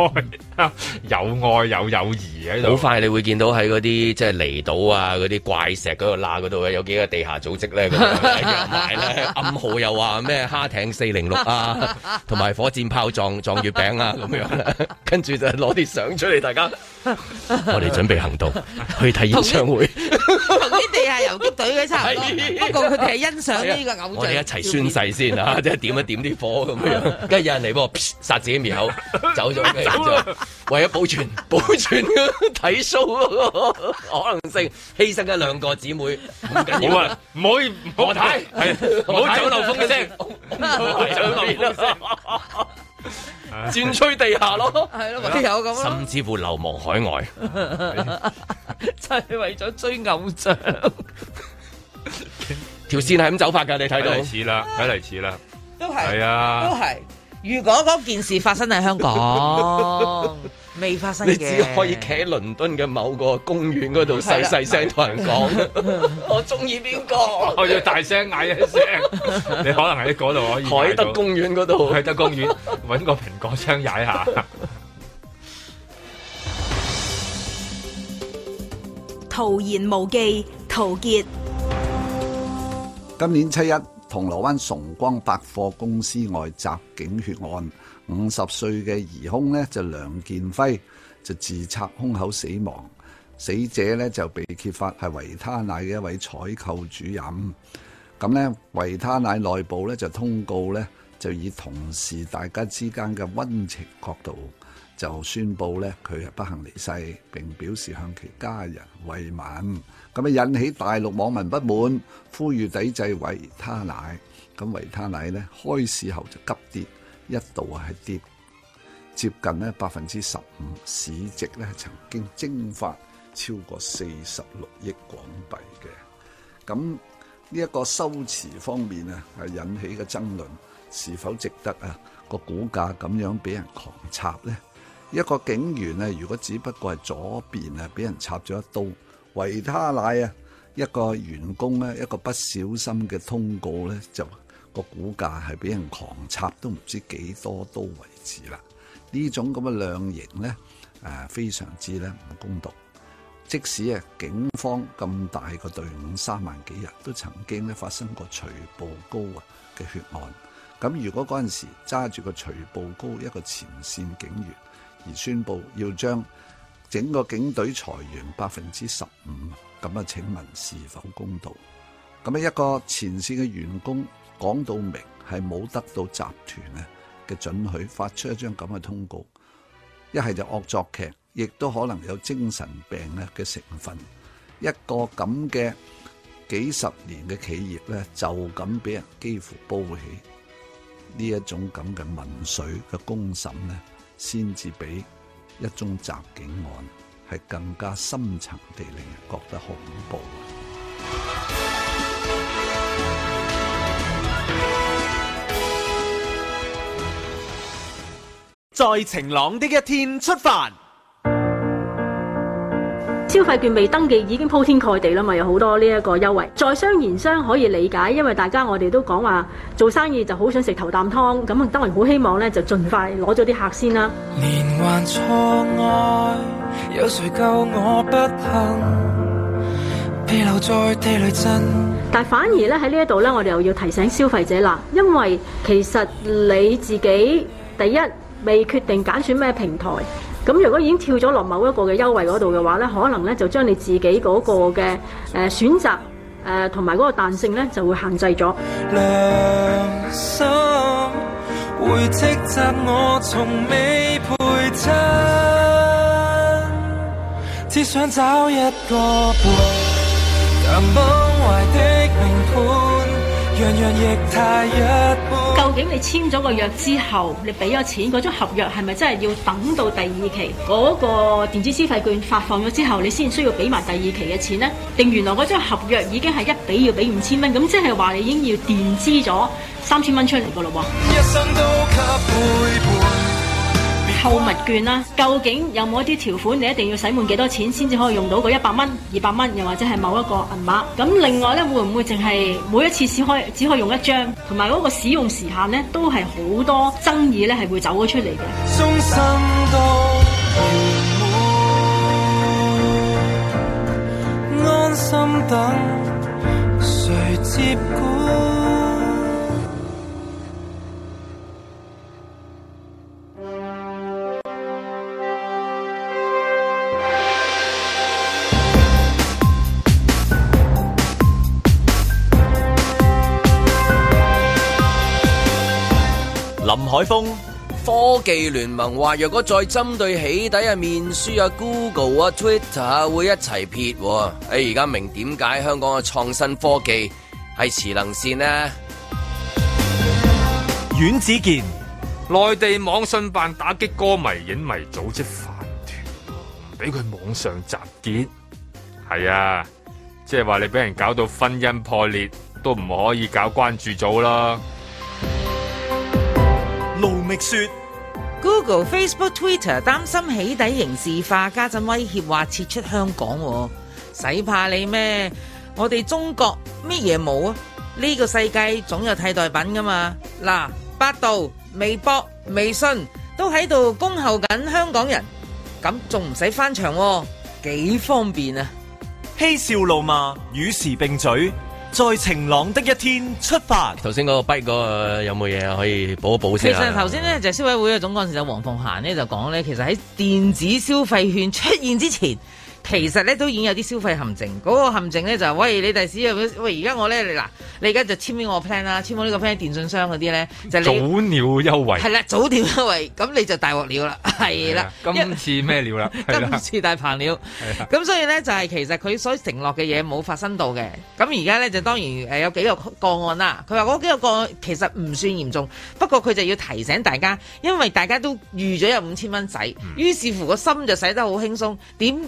友誼喺度。 好快你會見到喺嗰啲即係離島啊嗰啲怪石嗰度罅嗰度有幾個地下組織咧咁樣埋咧暗號又話咩蝦艇406啊，同埋火箭炮撞月餅啊咁樣，跟住就攞啲相出嚟，大家我哋準備行動去睇演唱會， 同啲地下游擊隊嘅差唔多，不過佢哋係欣賞呢個偶像。 我哋一齊宣誓先啊，即係點一點啲火咁樣，跟住有人嚟幫我殺自己滅口，走咗嘅，為咗保存睇 show 嗰個可能性，犧牲一2個姊妹唔緊要啊， 唔可以唔好睇，唔好走漏風嘅聲， 轉吹地下咯， 係咯，唯有咁咯， 甚至乎流亡海外， 就係為咗追偶像， 條線係咁走法㗎，你睇到睇嚟似啦， 都係， 係啊， 都係。如果嗰件事發生喺香港，未發生嘅， 你只可以企喺倫敦嘅某個公園嗰度細細聲同人講，我中意邊個， 我要大聲嗌一聲，你可能喺嗰度可以。 海德公園嗰度， 海德公園揾個蘋果槍踩下。 徒言無忌，陶傑。 今年7月，銅鑼灣崇光百貨公司外襲警血案，50歲嘅疑兇呢就梁建輝就自拆胸口死亡，死者呢就被揭發係維他奶嘅一位採購主任。咁呢維他奶內部呢就通告呢，就以同事大家之間嘅溫情角度，就宣布呢佢係不幸離世，並表示向其家人慰問。咁啊引起大陸網民不滿，呼籲抵制維他奶。咁維他奶呢開市後就急跌，一度係跌接近呢15%，市值呢曾經蒸發超過46億港幣嘅。咁呢一個修辭方面啊，係引起嘅爭論，是否值得啊個股價咁樣俾人狂插呢？一個警員啊，如果只不過係左邊啊俾人插咗一刀，維他奶啊一個員工咧一個不小心嘅通告咧，就個股價係俾人狂插都唔知幾多刀為止啦。呢種咁嘅量刑咧，非常之咧唔公道。即使警方咁大個隊伍3萬幾人，都曾經咧發生過徐步高嘅血案。咁如果嗰陣時揸住個徐步高一個前線警員，而宣布要將整個警隊裁員15%，咁啊請問是否公道？咁一個前線嘅員工講到明係冇得到集團嘅准許，發出一張咁嘅通告，一係就惡作劇，亦都可能有精神病嘅成分。一個咁嘅幾十年嘅企業咧，就咁俾人幾乎煲起，呢一種咁嘅民粹嘅公審咧，先至比一宗襲警案係更加深層地令人覺得恐怖。 在晴朗的一天出發。 消費券未登記已經鋪天蓋地啦嘛，有好多呢一個優惠。在商言商可以理解，因為大家我哋都講話做生意就好想食頭啖湯，咁當然好希望咧就盡快攞咗啲客先啦。 連環錯愛，有誰救我不幸？被留在地雷陣。 但反而咧喺呢一度咧，我哋又要提醒消費者啦，因為其實你自己第一未決定揀選咩平台。咁如果已經跳咗落某一個嘅優惠嗰度嘅話咧，可能咧就將你自己嗰個嘅選擇同埋嗰個彈性咧就會限制咗。 良心會斥責我從未陪襯，只想找一個伴，更崩壞的名盤，樣樣亦太一般。 究竟你簽咗個約之後，你俾咗錢，嗰張合約係咪真係要等到第二期嗰個電子消費券發放咗之後，你先需要俾埋第二期嘅錢呢？定原來嗰張合約已經係一俾要俾5000蚊，咁即係話你已經要墊資咗3000蚊出嚟噶咯喎。一生都給陪伴。購物券啦，究竟有冇一啲條款你一定要使滿幾多錢先至可以用到嗰100蚊、200蚊，又或者係某一個銀碼？咁另外咧，會唔會淨係每一次只可以用一張？同埋嗰個使用時限咧，都係好多爭議咧，係會走咗出嚟嘅。終身都陪伴，安心等誰接管？ 林海峰， 科技聯盟話，若果再針對起底面書Google Twitter 會一齊撇。而家明點解香港嘅創新科技係遲能線呢？ 阮子健， 內地網信辦打擊歌迷影迷組織飯團，唔俾佢網上集結。係啊，即係話你俾人搞到婚姻破裂，都唔可以搞關注組啦。 盧覓雪 ，Google、Facebook、Twitter 擔心起底刑事化，家陣威脅話撤出香港，使怕你咩？我哋中國乜嘢冇啊？呢個世界總有替代品噶嘛？嗱，百度、微博、微信都喺度恭候緊香港人，咁仲唔使翻牆，幾方便啊！ 嬉笑怒罵，與時並舉。在晴朗的一天出發。 頭先嗰個 bite 嗰個有冇嘢可以補一補先？ 其實頭先咧就消委會嘅總幹事就黃鳳嫻咧就講咧，其實喺電子消費券出現之前，其實咧都已經有啲消費陷阱。嗰個陷阱咧就係喂，你第時喂而家我咧你而家就簽呢個 plan 啦，簽咗呢個 plan 電信商嗰啲咧就你早鳥優惠係啦，早鳥優惠咁你就大鑊料啦，係啦， 今次咩料啦？ 今次大棚料，咁所以咧就係其實佢所承諾嘅嘢冇發生到嘅。咁而家咧就當然有幾個個案啦。佢話嗰幾個個案其實唔算嚴重，不過佢就要提醒大家，因為大家都預咗有5000蚊使，於是乎個心就使得好輕鬆，點知就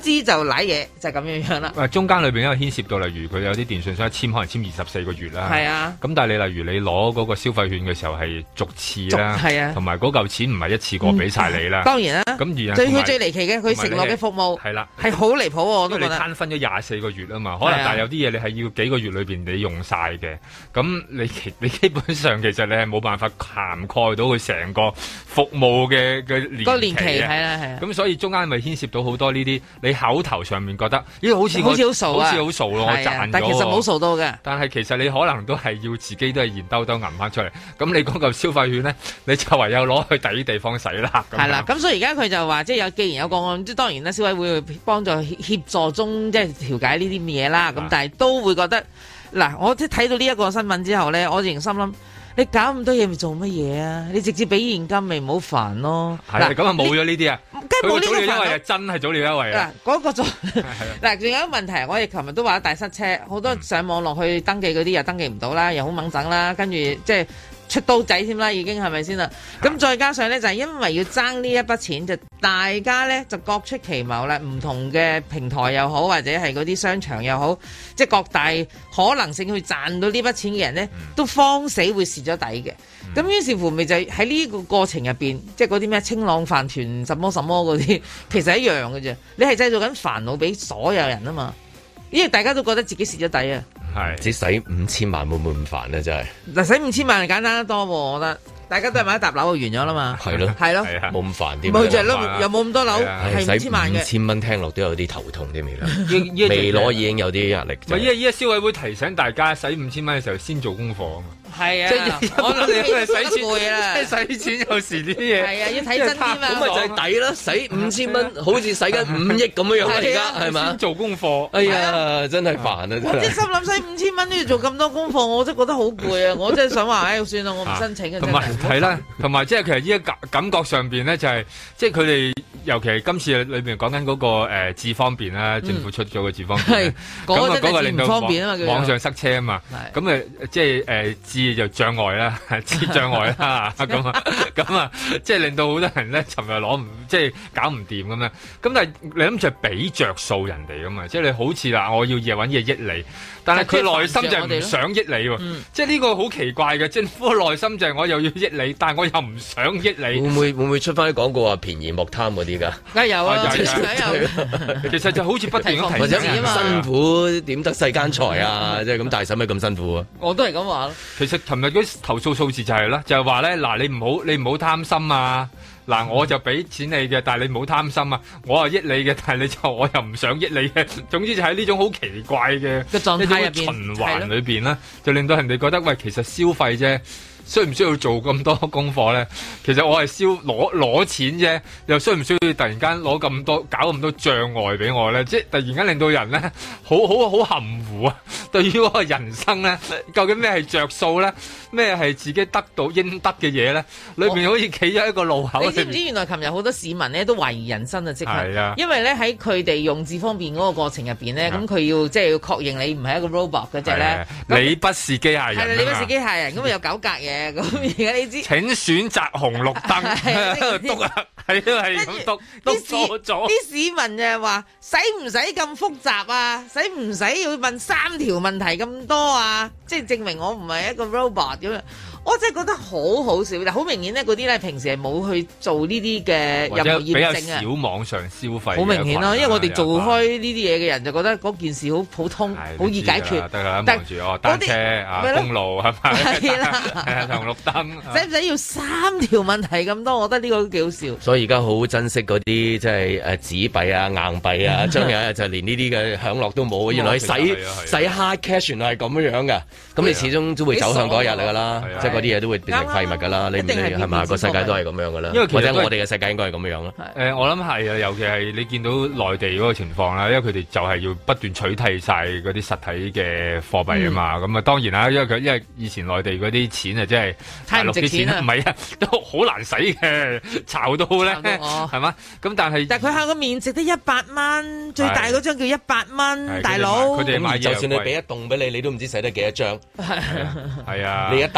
瀨嘢，就係咁樣樣啦。 中間裏邊因為牽涉到，例如佢有啲電信商簽可能簽24個月啦。 係啊。咁但係你例如你攞嗰個消費券嘅時候係逐次啦，係啊，同埋嗰嚿錢唔係一次過俾晒你啦。當然啦。咁而佢最離奇嘅，佢承諾嘅服務係啦， 係好離譜喎，我都覺得。 你攤分咗24個月啊嘛，可能但係有啲嘢你係要幾個月裏邊你用晒嘅，咁你基本上其實你係冇辦法涵蓋到佢成個服務嘅年期係啦係啊。 咁所以中間咪牽涉到好多呢啲，你口頭上面覺得咦好似好傻啊，好似好傻咯，我賺咗， 但其實冇傻到嘅。 但係其實你可能都係要自己都係現兜兜揞翻出嚟，咁你嗰嚿消費券咧，你就唯有攞去第啲地方使啦。 係啦，咁所以而家佢就話即係既然有個案，即係當然啦，消委會會幫助協助中即係調解呢啲嘢啦。咁但係都會覺得嗱，我即係睇到呢一個新聞之後咧，我仍然心諗。你搞咁多嘢咪做乜嘢啊？你直接俾現金咪唔好煩咯。 係咁啊，冇咗呢啲啊， 梗係冇呢個優惠啊，真係早鳥優惠啊。 嗱，嗰個嗱，仲有一個問題，我哋琴日都話大塞車，好多上網落去登記嗰啲又登記唔到啦，又好掹整啦，跟住即係出刀仔添啦，已經係咪先啦？咁再加上咧，就係因為要爭呢一筆錢，就大家咧就各出奇謀啦，唔同嘅平台又好，或者係嗰啲商場又好，即係各大可能性去賺到呢筆錢嘅人咧，都慌死會蝕咗底嘅。咁於是乎咪就喺呢個過程入邊，即係嗰啲咩清朗飯團什麼什麼嗰啲，其實一樣嘅啫。你係製造緊煩惱俾所有人啊嘛，因為大家都覺得自己蝕咗底啊。 係，只使5000萬會唔會咁煩咧？真係嗱，使5000萬係簡單得多喎，我覺得。大家都係買一沓樓就完咗啦嘛。係咯，係咯， 冇咁煩啲。 冇就係咯，又冇咁多樓，係5000萬嘅。 5000蚊聽落都有啲頭痛啲未啦。未攞已經有啲壓力。 唔係，依家消委會提醒大家使5000蚊嘅時候先做功課啊嘛。 係啊， 即係我諗你係使錢啦， 即係使錢有時啲嘢係啊，要睇真啲嘛。 咁咪就係抵咯，使5000蚊好似使緊5億咁樣樣而家係嘛？ 先做功課， 哎呀，真係煩啊！ 我即係心諗使5000蚊都要做咁多功課，我真係覺得好攰啊！我真係想話，唉，算啦，我唔申請嘅。 同埋係啦，同埋即係其實依家感覺上邊咧就係，即係佢哋尤其係今次裏邊講緊嗰個智方便啦，政府出咗個智方便，咁啊嗰個令到網上塞車啊嘛，咁即係智就障礙啦，智障礙啦，咁啊，即係令到好多人咧，尋日攞唔即係搞唔掂咁樣。咁但係你諗住係俾着數人哋噶嘛？即係你好似啦，我要揾嘢益你，但係佢內心就係唔想益你喎。即係呢個好奇怪嘅，政府嘅內心就係我又要益你，但係我又唔想益你。 會唔會出翻啲廣告話便宜莫貪嗰啲㗎？ 梗係有啊， 其實就好似不斷咁或者辛苦點得世間財啊？即係咁，但係使乜咁辛苦啊？ 我都係咁話咯。 其實尋日嗰啲投訴數字就係啦，就係話咧嗱，你唔好貪心啊！嗱，我就俾錢你嘅，但係你唔好貪心啊！我係益你嘅，但係我又唔想益你嘅。總之就喺呢種好奇怪嘅狀態入邊循環裏邊啦，就令到人哋覺得喂，其實消費啫。需唔需要做咁多功課咧？其實我係攞錢啫，又需唔需要突然間攞咁多搞咁多障礙俾我咧？即係突然間令到人咧好含糊啊！對於嗰個人生咧，究竟咩係着數咧？咩係自己得到應得嘅嘢咧？裏邊好似企咗一個路口。你知唔知原來琴日好多市民咧都懷疑人生啊？即刻，因為咧喺佢哋用智方便嗰個過程入邊咧，咁佢要即係要確認你唔係一個 robot 嗰隻咧， 你不是機械人。 係啦，你不是機械人，咁啊有9格嘅。咁而家你知？ 請選擇紅綠燈，篤啊，係都係咁篤錯咗。 啲市民就係話：使唔使咁複雜啊？使唔使要問3條問題咁多啊？即係證明我唔係一個 robot 咁樣。我真係覺得好好笑，但好明顯咧，嗰啲咧平時係冇去做呢啲嘅任何驗證啊， 比較少網上消費。 好明顯咯，因為我哋做開呢啲嘢嘅人就覺得嗰件事好普通，好易解決。 得啦，望住我單車啊，公路係咪？係啦，紅綠燈。 使唔使要3條問題咁多？我覺得呢個都幾好笑。 所以而家好珍惜嗰啲即係紙幣啊、硬幣啊，將來就連呢啲嘅享樂都冇。原來使 hard cash 原來係咁樣㗎。咁你始終都會走向嗰一日嚟㗎啦。嗰啲嘢都會變成廢物㗎啦，你係嘛？個世界都係咁樣㗎啦，因為或者我哋嘅世界應該係咁樣咯。 我諗係啊，尤其係你見到內地嗰個情況啦，因為佢哋就係要不斷取締晒嗰啲實體嘅貨幣啊嘛。咁啊當然啦，因為以前內地嗰啲錢啊，真係大陸啲錢唔係啊，都好難使嘅，炒到咧係嘛？咁但係佢下個面值得100蚊，最大嗰張叫100蚊，大佬。 佢哋買就算你俾一棟俾你，你都唔知使得幾多張。 係啊， 你一沓攞咗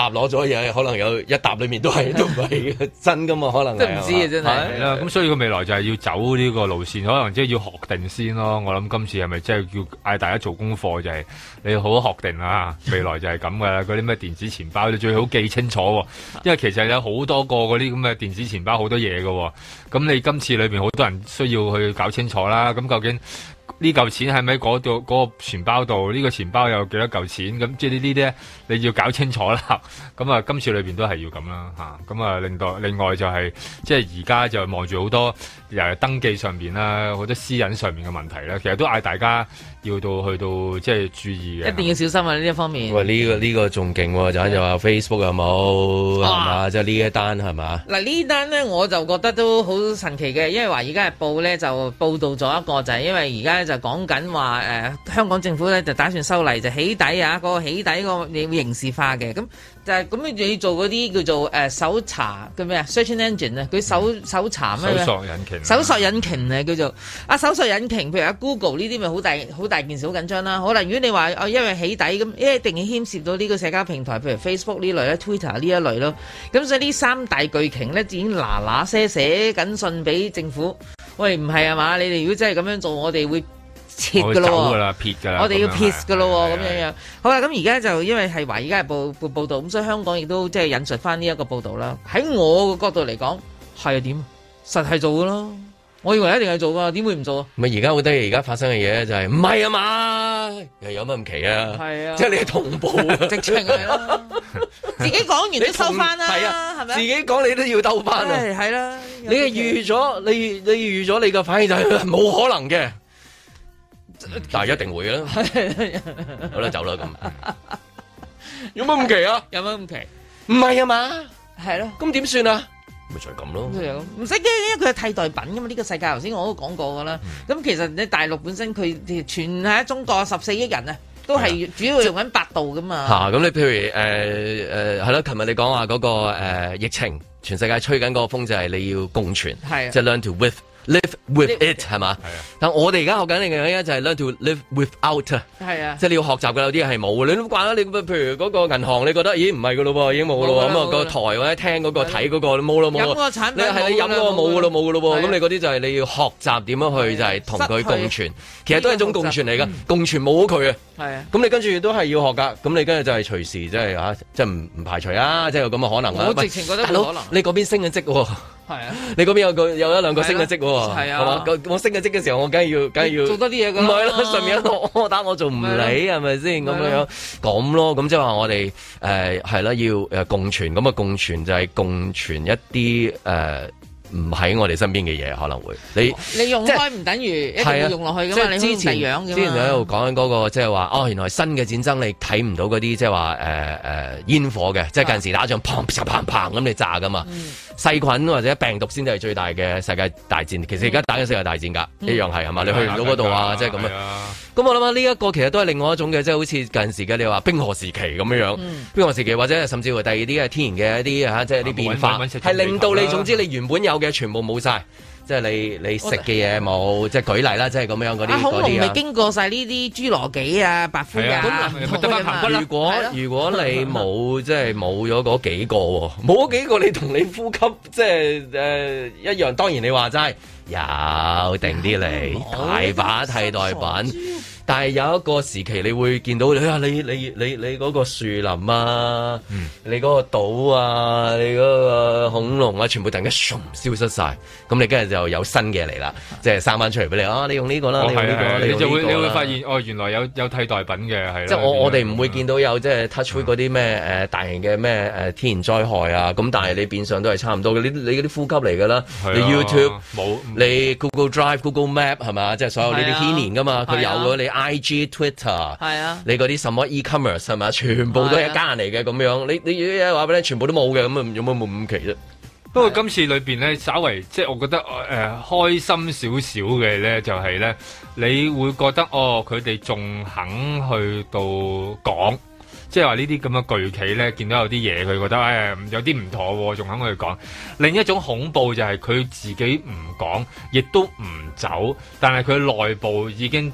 嘢可能有一沓裏面都唔係真噶嘛，可能真唔知啊，真係。 係啦，咁所以個未來就係要走呢個路線，可能即係要學定先咯。我諗今次係咪即係要嗌大家做功課，就係你好學定啊？未來就係咁噶啦，嗰啲咩電子錢包你最好記清楚，因為其實有好多個嗰啲咁嘅電子錢包好多嘢噶，咁你今次裏邊好多人需要去搞清楚啦。咁究竟呢嚿錢係咪喺嗰度嗰個錢包度？呢個錢包有幾多嚿錢？咁即係呢啲咧，你要搞清楚啦。咁啊，今次裏邊都係要咁啦嚇。咁啊，另外就係即係而家就望住好多登記上邊啦，好多私隱上面嘅問題咧，其實都嗌大家要去到即係注意嘅。 一定要小心啊！呢一方面。 喂，呢個仲勁喎，就話 Facebook 有冇係嘛？即係呢一單係嘛？ 嗱呢單咧我就覺得都好神奇嘅，因為話而家日報咧就報導咗一個就係因為而家就講緊話香港政府咧就打算修例就起底啊，嗰個起底個你會刑事化嘅，咁就係咁你要做嗰啲叫做搜查叫咩啊 search engine 啊，佢搜查咩？搜索引擎啊叫做搜索引擎，譬如Google 呢啲咪好大件事，好緊張啦。好啦，如果你話因為起底咁，一定係牽涉到呢個社交平台，譬如 Facebook 呢類咧 ，Twitter 呢一類咯。咁所以呢三大巨鯨咧已經嗱聲寫緊信俾政府，喂唔係啊嘛？你哋如果真係咁樣做，我哋會切噶咯， 撇噶啦， 我哋要撇噶咯，咁樣樣。好啦，咁而家就因為係華爾街日報道，咁所以香港亦都即係引述翻呢一個報道啦。喺我嘅角度嚟講，係點？實係做噶咯。我以為一定係做噶，點會唔做啊？ 咪而家好得意，而家發生嘅嘢就係唔係啊嘛？又有乜咁奇啊？係啊，即係你同步直情係咯，自己講完都收翻啦，係啊，係咪？ 自己講你都要兜翻啊， 係啦。 你係預咗，你預咗你嘅反應就係冇可能嘅。但係一定會啦，好啦，走啦咁。有乜咁奇啊？ 有乜咁奇？ 唔係啊嘛？ 係咯。 咁點算啊？咪就係咁咯。 唔使驚，因為佢係替代品噶嘛。呢個世界頭先我都講過噶啦。咁其實你大陸本身佢全係中國14億人啊，都係主要用緊百度噶嘛。嚇！咁你譬如係咯，琴日你講話嗰個疫情，全世界吹緊嗰個風就係你要共存，即係 learn to live with it 係嘛？但我哋而家學緊嘅嘢就係 learn to live without 係啊，即係你要學習嘅有啲嘢係冇嘅，你都慣啦。你譬如嗰個銀行，你覺得咦唔係嘅咯喎，已經冇嘅咯喎。咁啊個台或者聽嗰個睇嗰個冇咯冇。飲個產品你飲嗰個冇嘅咯冇嘅咯喎。咁你嗰啲就係你要學習點樣去就係同佢共存，其實都係一種共存嚟㗎。共存冇咗佢啊。係啊。咁你跟住都係要學㗎。咁你跟住就係隨時即係嚇，即係唔排除啊，即係有咁嘅可能啊。我直情覺得冇可能。你嗰邊升緊職喎。係啊，你嗰邊有一兩個升嘅職喎，係啊，我升嘅職嘅時候，我梗係要做多啲嘢㗎，唔係咯，上面我打我做唔理係咪先咁樣咁咯？咁即係話我哋係啦，要共存，咁啊共存就係共存一啲唔喺我哋身邊嘅嘢可能會你用開唔等於一定要用落去㗎嘛？你之前喺度講緊嗰個即係話原來新嘅戰爭你睇唔到嗰啲即係話煙火嘅，即係近時打仗砰砰砰砰咁你炸㗎嘛。細菌或者病毒先至係最大嘅世界大戰，其實而家打緊世界大戰㗎，一樣係嘛？你去唔到嗰度啊，即係咁啊。咁我諗下呢一個其實都係另外一種嘅，即係好似近時嘅你話冰河時期咁樣樣，冰河時期或者甚至乎第二啲嘅天然嘅一啲即係啲變化，係令到你總之你原本有嘅全部冇晒。即係你食嘅嘢冇，即係舉例啦，即係咁樣嗰啲。恐龍咪經過晒呢啲侏羅紀啊、白灰啊，如果你冇即係冇咗嗰幾個，冇嗰幾個你同你呼吸即係一樣。當然你話齋有定啲嚟，大把替代品。但係有一個時期，你會見到你嗰個樹林啊，你嗰個島啊，你嗰個恐龍啊，全部突然間消失晒，咁你跟住就有新嘅嚟啦，即係生翻出嚟俾你你用呢個啦，你用呢個，你就會發現原來有替代品嘅係。即係我哋唔會見到有即係 touch wood 嗰啲咩大型嘅咩天然災害啊，咁但係你變相都係差唔多嘅，你嗰啲呼吸嚟㗎啦，你 YouTube 冇，你 Google Drive、Google Map 係嘛，即係所有呢啲牽連㗎嘛，佢有咗你。IG、Twitter， 係啊，你嗰啲什麼 e-commerce 係咪？全部都係一家人嚟嘅咁樣。你話俾你全部都冇嘅，咁啊有乜冇咁奇啫？ 不過今次裏邊咧，稍為即係我覺得開心少少嘅咧，就係咧，你會覺得佢哋仲肯去到講，即係話呢啲咁嘅巨企咧，見到有啲嘢，佢覺得有啲唔妥，仲肯去講。另一種恐怖就係佢自己唔講，亦都唔走，但係佢內部已經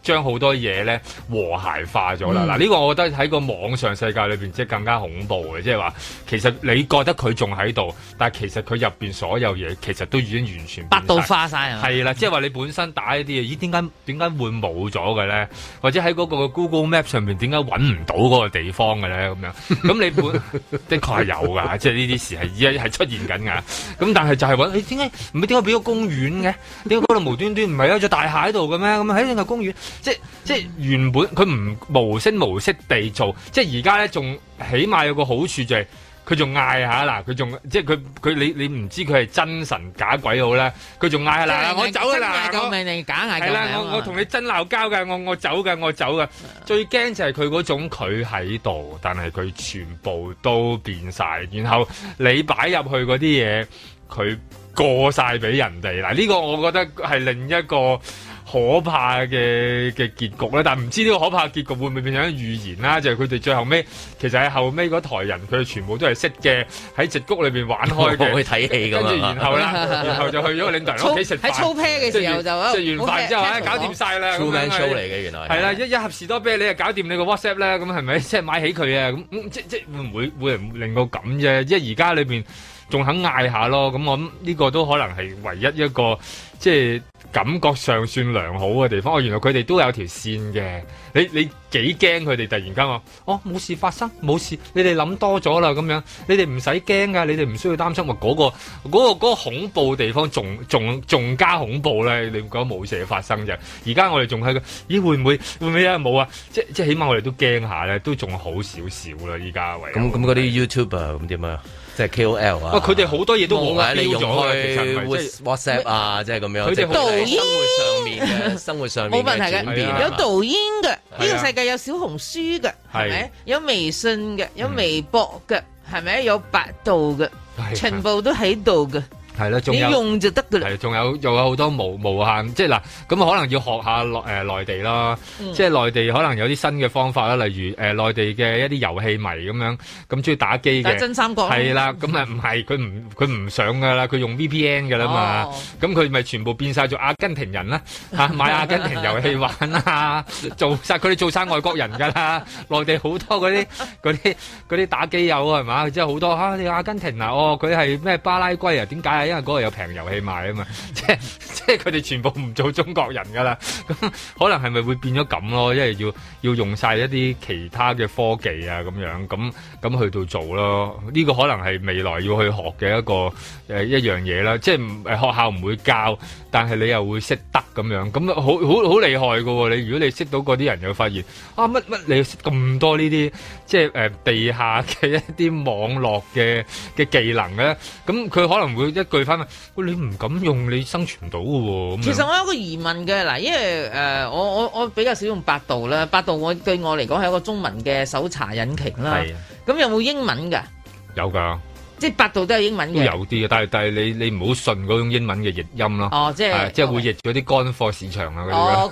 將好多嘢咧和諧化咗啦。嗱，呢個我覺得喺個網上世界裏邊即係更加恐怖嘅，即係話其實你覺得佢仲喺度，但係其實佢入邊所有嘢其實都已經完全百度化晒啊！ 係啦，即係話你本身打呢啲嘢，咦？點解會冇咗嘅咧？或者喺嗰個 Google Map 上面點解揾唔到嗰個地方嘅咧？咁樣咁你的確係有㗎，即係呢啲事係而家係出現緊㗎。咁但係就係揾你點解唔係點解俾個公園嘅？點解嗰度無端端唔係有座大廈喺度嘅咩？咁喺呢個公園，即係原本佢唔無聲無息地做，即係而家咧仲起碼有個好處就係佢仲嗌下嗱，佢仲即係佢你唔知佢係真神假鬼好咧，佢仲嗌下嗱，我走㗎啦， 救命定假嗌救命？ 係啦，我同你真鬧交㗎，我走㗎。最驚就係佢嗰種佢喺度，但係佢全部都變晒，然後你擺入去嗰啲嘢，佢過晒俾人哋。嗱，呢個我覺得係另一個可怕嘅結局咧，但係唔知呢個可怕嘅結局會唔會變成預言啦？就係佢哋最後尾，其實喺後尾嗰台人，佢哋全部都係識嘅，喺矽谷裏邊玩開嘅， 去睇戲咁跟住然後就去咗個領導人屋企食飯。 喺操啤嘅時候就食完飯之後搞掂晒啦。 True Man Show 嚟嘅原來係啦， 一盒士多啤梨就搞掂你個 WhatsApp 咧，咁係咪即係買起佢啊？咁即會令到咁啫？即係而家裏邊仲肯嗌下咯，咁我諗呢個都可能係唯一一個即係感覺上算良好嘅地方。哦，原來佢哋都有條線嘅。你幾驚佢哋突然間話哦冇事發生，冇事，你哋諗多咗啦咁樣，你哋唔使驚噶，你哋唔需要擔心。話嗰個恐怖地方仲加恐怖咧，你唔覺得冇事發生啫？而家我哋仲喺個咦會唔會啊冇啊？即係起碼我哋都驚下咧，都仲好少少啦。依家咁嗰啲 YouTuber 咁點啊？即係 KOL 啊！ 佢哋好多嘢都冇標咗， 你用開 WhatsApp 啊，即係咁樣。 佢哋抖音生活上面冇問題嘅，有抖音嘅，呢個世界有小紅書嘅，係咪？有微信嘅，有微博嘅，係咪？有百度嘅，全部都喺度嘅。係啦，你用就得噶啦。係，仲有好多無限，即係嗱，咁可能要學下內地啦，即係內地可能有啲新嘅方法啦，例如內地嘅一啲遊戲迷咁樣，咁中意打機嘅。真三國。係啦，咁啊唔係，佢唔上噶啦，佢用 VPN 噶啦嘛，咁佢咪全部變晒做阿根廷人啦，嚇買阿根廷遊戲玩啊，佢哋做晒外國人噶啦，內地好多嗰啲打機友係嘛，即係好多你阿根廷啊，佢係咩巴拉圭啊？點解啊？因為嗰度有平遊戲賣啊嘛，即係佢哋全部唔做中國人噶啦，咁可能係咪會變咗咁咯？因為要用晒一啲其他嘅科技啊，咁樣咁去到做咯。呢個可能係未來要去學嘅一樣嘢啦。即係學校唔會教，但係你又會識得咁樣，咁好厲害噶喎！你如果你識到嗰啲人，又發現啊乜你識咁多呢啲即係地下嘅一啲網絡嘅技能咧，咁佢可能會一句翻喂，你唔敢用，你生存唔到嘅喎。其實我有個疑問嘅嗱，因為我比較少用百度啦，百度對我嚟講係一個中文嘅搜查引擎啦。係。咁有冇英文㗎？有㗎。即係百度都係英文嘅，都有啲嘅，但係你唔好信嗰種英文嘅譯音咯。哦，即係會譯咗啲乾貨市場啊嗰啲。哦，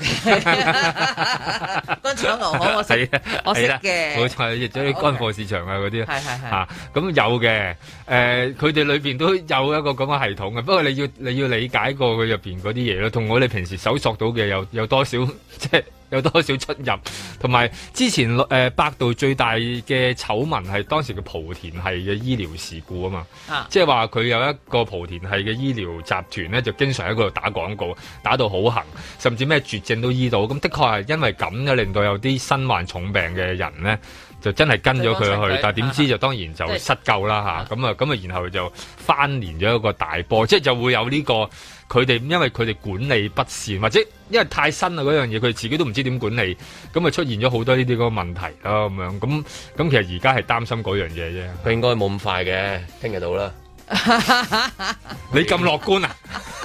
乾炒牛河我識，我識嘅。冇錯，譯咗啲乾貨市場啊嗰啲。係嚇，咁有嘅。佢哋裏邊都有一個咁嘅系統嘅，不過你要理解過佢入邊嗰啲嘢咯，同我哋平時搜索到嘅有多少即係。有多少出入，同埋之前百度最大嘅醜聞係當時嘅莆田系嘅醫療事故啊嘛，即係話佢有一個莆田系嘅醫療集團咧，就經常喺嗰度打廣告，打到好行，甚至咩絕症都醫到，咁的確係因為咁嘅令到有啲身患重病嘅人咧，就真係跟咗佢去，但係點知就當然就失救啦嚇，咁啊然後就翻連咗一個大波，即係就會有呢個。佢哋因為佢哋管理不善，或者因為太新啦嗰樣嘢，佢哋自己都唔知點管理，咁啊出現咗好多呢啲嗰個問題啦咁樣，咁其實而家係擔心嗰樣嘢啫。 佢應該冇咁快嘅，聽日到啦。 你咁樂觀啊？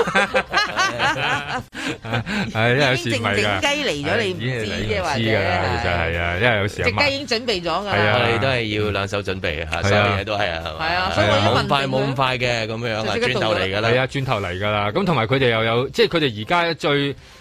係，因為有時唔係㗎。 正雞嚟咗，你唔知嘅或者其實係啊，因為有時隻雞已經準備咗㗎。 係啊，我哋都係要兩手準備嚇，所有嘢都係啊，係嘛？係啊，所以冇咁快嘅咁樣啊，轉頭嚟㗎啦。 係啊，轉頭嚟㗎啦。咁同埋佢哋又有，即係佢哋而家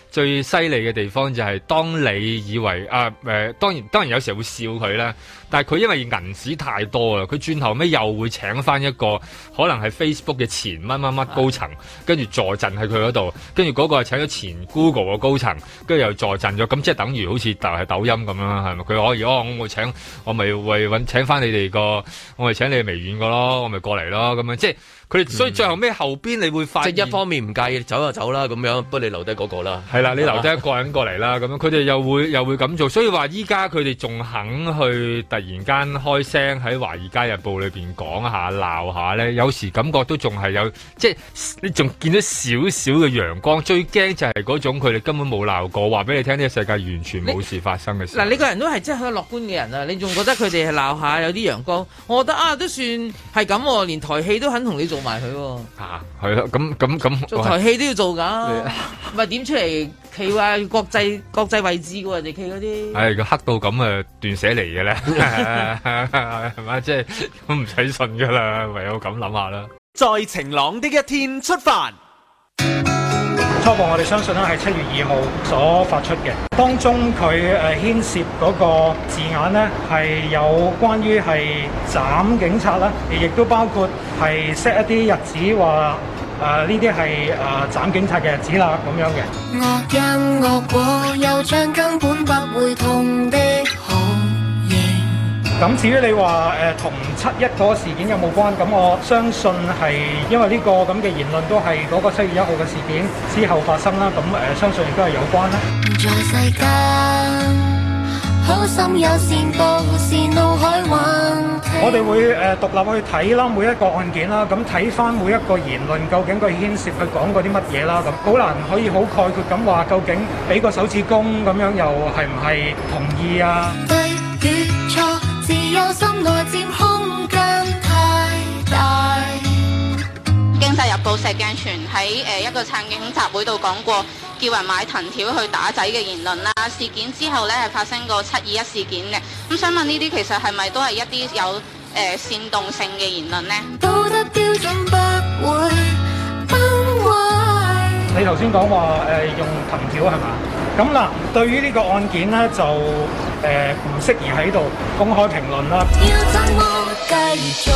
最犀利嘅地方就係當你以為當然有時候會笑佢啦，但係佢因為銀紙太多啦，佢轉頭尾又會請翻一個可能係 Facebook 嘅前乜乜乜高層，跟住坐鎮喺佢嗰度，跟住嗰個係請咗前 Google 嘅高層，跟住又坐鎮咗，咁即係等於好似係抖音咁啦，係咪？佢可以我咪為請翻你哋我咪請你哋微軟個咯，我咪過嚟咯，咁樣即係。佢哋所以最後尾後邊你會發現， 即係一方面唔介意走就走啦咁樣，不過你留低嗰個啦。係啦，你留低一個人過嚟啦，咁樣佢哋又會咁做，所以話依家佢哋仲肯去突然間開聲喺《華爾街日報》裏邊講下鬧下咧，有時感覺都仲係有，即係你仲見到少少嘅陽光。最驚就係嗰種佢哋根本冇鬧過，話俾你聽呢個世界完全冇事發生嘅事。 嗱，你個人都係真係好樂觀嘅人啊！你仲覺得佢哋係鬧下有啲陽光？我覺得都算係咁，連台戲都肯同你做埋佢係咯，咁做台戲都要做噶，唔係點出嚟企話國際位置嘅人哋企嗰啲， 係佢黑到咁斷捨離嘅咧，係咪？即係都唔使信噶啦，唯有咁諗下啦。 在晴朗的一天出發。 初步我哋相信咧係7月2號所發出嘅，當中佢牽涉嗰個字眼咧係有關於係斬警察啦，亦都包括係 set 一啲日子話呢啲係斬警察嘅日子啦咁樣嘅。惡因惡果又將根本不會痛的好型。咁至於你話同7·1嗰個事件有冇關？咁我相信係因為呢個咁嘅言論都係嗰個7月1號嘅事件之後發生啦。咁相信亦都係有關啦。在世間好心有善報，是怒海橫。我哋會獨立去睇啦，每一個案件啦，咁睇翻每一個言論，究竟佢牽涉佢講過啲乜嘢啦，咁好難可以好概括咁話，究竟俾個手指公咁樣又係唔係同意啊？對與錯，自由心內佔空間太大。經濟日報石鏡泉喺一個撐警集會度講過，叫人買藤條去打仔嘅言論啦。事件之後呢係發生過7·21事件嘅，咁想問呢啲其實係咪都係一啲有煽動性嘅言論呢？道德標準不會崩壞。你頭先講話用藤條係嘛？咁嗱，對於呢個案件呢，就唔適宜喺度公開評論啦。要怎麼繼續？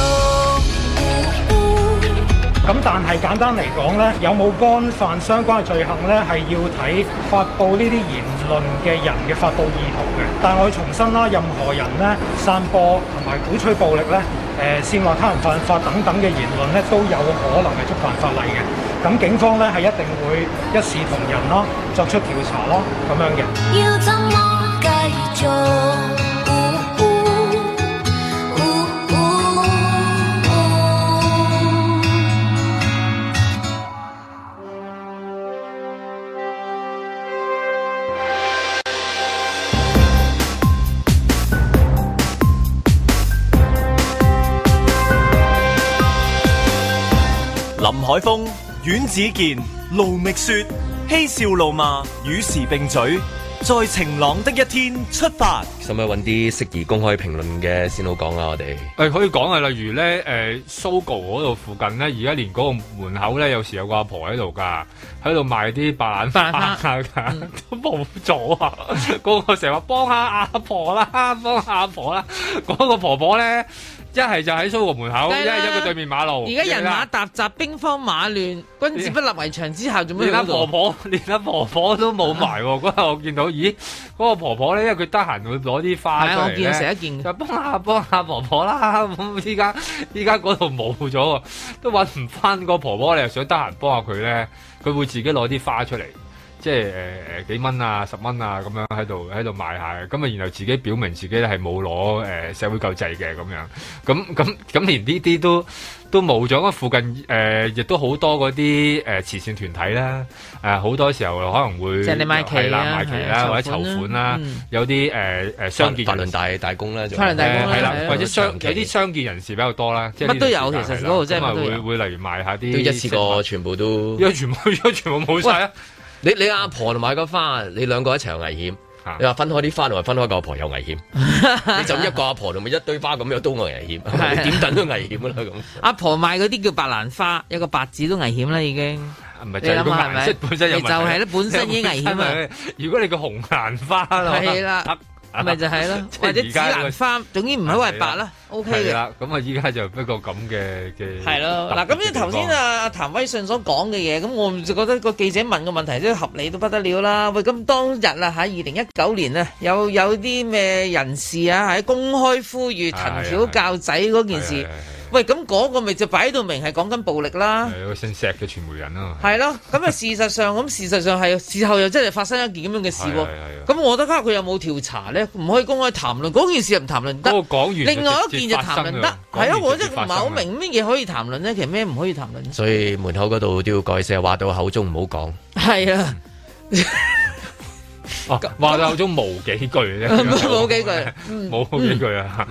咁但係簡單嚟講咧，有冇干犯相關嘅罪行咧，係要睇發布呢啲言論嘅人嘅發布意圖嘅。但係我重申啦，任何人咧散播同埋鼓吹暴力咧，煽惑他人犯法等等嘅言論咧，都有可能係觸犯法例嘅。咁警方咧係一定會一視同仁咯，作出調查咯，咁樣嘅。要怎麼繼續？ 林海峰、阮子健、盧覓雪，嬉笑怒罵，與時並舉，在晴朗的一天出發。 使唔使揾啲適宜公開評論嘅先好講啊？我哋可以講啊，例如咧Sogo 嗰度附近咧，而家連嗰個門口咧，有時有個阿婆喺度㗎，喺度賣啲白蘭花㗎，都冇咗啊！嗰個成日話幫下阿婆啦，幫下阿婆啦，嗰個婆婆咧。一係就喺蘇豪門口，一係喺佢對面馬路。 而家人馬沓雜，兵荒馬亂，君子不立圍牆之下，做咩？ 連阿婆婆都冇埋喎。嗰日我見到，咦，嗰個婆婆咧，因為佢得閒會攞啲花出嚟咧，我見成一件，就幫下婆婆啦。咁依家嗰度冇咗喎，都揾唔翻個婆婆。你又想得閒幫下佢咧，佢會自己攞啲花出嚟。即係幾蚊啊10蚊啊咁樣喺度賣下嘅，咁啊然後自己表明自己咧係冇攞社會救濟嘅咁樣，咁連呢啲都冇咗。附近亦都好多嗰啲慈善團體啦，好多時候可能會即係你買旗啦， 或者籌款啦，有啲傷健法輪大公啦， 法輪大公係啦，或者有啲傷健人士比較多啦， 乜都有其實嗰度真係會例如賣下啲， 都一次過全部都， 因為全部冇晒啊！ 你阿婆同埋個花，你兩個一齊有危險。你話分開啲花同埋分開個阿婆有危險，你就一個阿婆同埋一堆花咁樣都危險，你點等都危險啦咁。 阿婆賣嗰啲叫白蘭花，有個白字都危險啦已經。 唔係就係個顏色本身有問題， 就係咧本身已經危險啊！ 如果你個紅蘭花係啦。咪就係咯，或者紫蘭花，總之唔好係白啦 ，OK 嘅。係啦， 咁啊依家就不過咁嘅。 係咯，嗱咁即係頭先阿譚威信所講嘅嘢，咁我就覺得個記者問嘅問題都合理到不得了啦。喂，咁當日啊喺2019年啊，有啲咩人士啊喺公開呼籲藤條教仔嗰件事。喂，咁嗰個咪就擺到明係講緊暴力啦。 係有個姓石嘅傳媒人啊。 係咯，咁啊事實上係事後又真係發生一件咁樣嘅事喎。咁我覺得佢有冇調查咧？唔可以公開談論嗰件事，唔談論得。講完另外一件就談論得。係咯，我真係唔係好明乜嘢可以談論咧，其實咩唔可以談論。 所以門口嗰度都要改寫，話到口中唔好講。 係啊。 哦，話到口中冇幾句啫， 冇幾句， 冇幾句啊！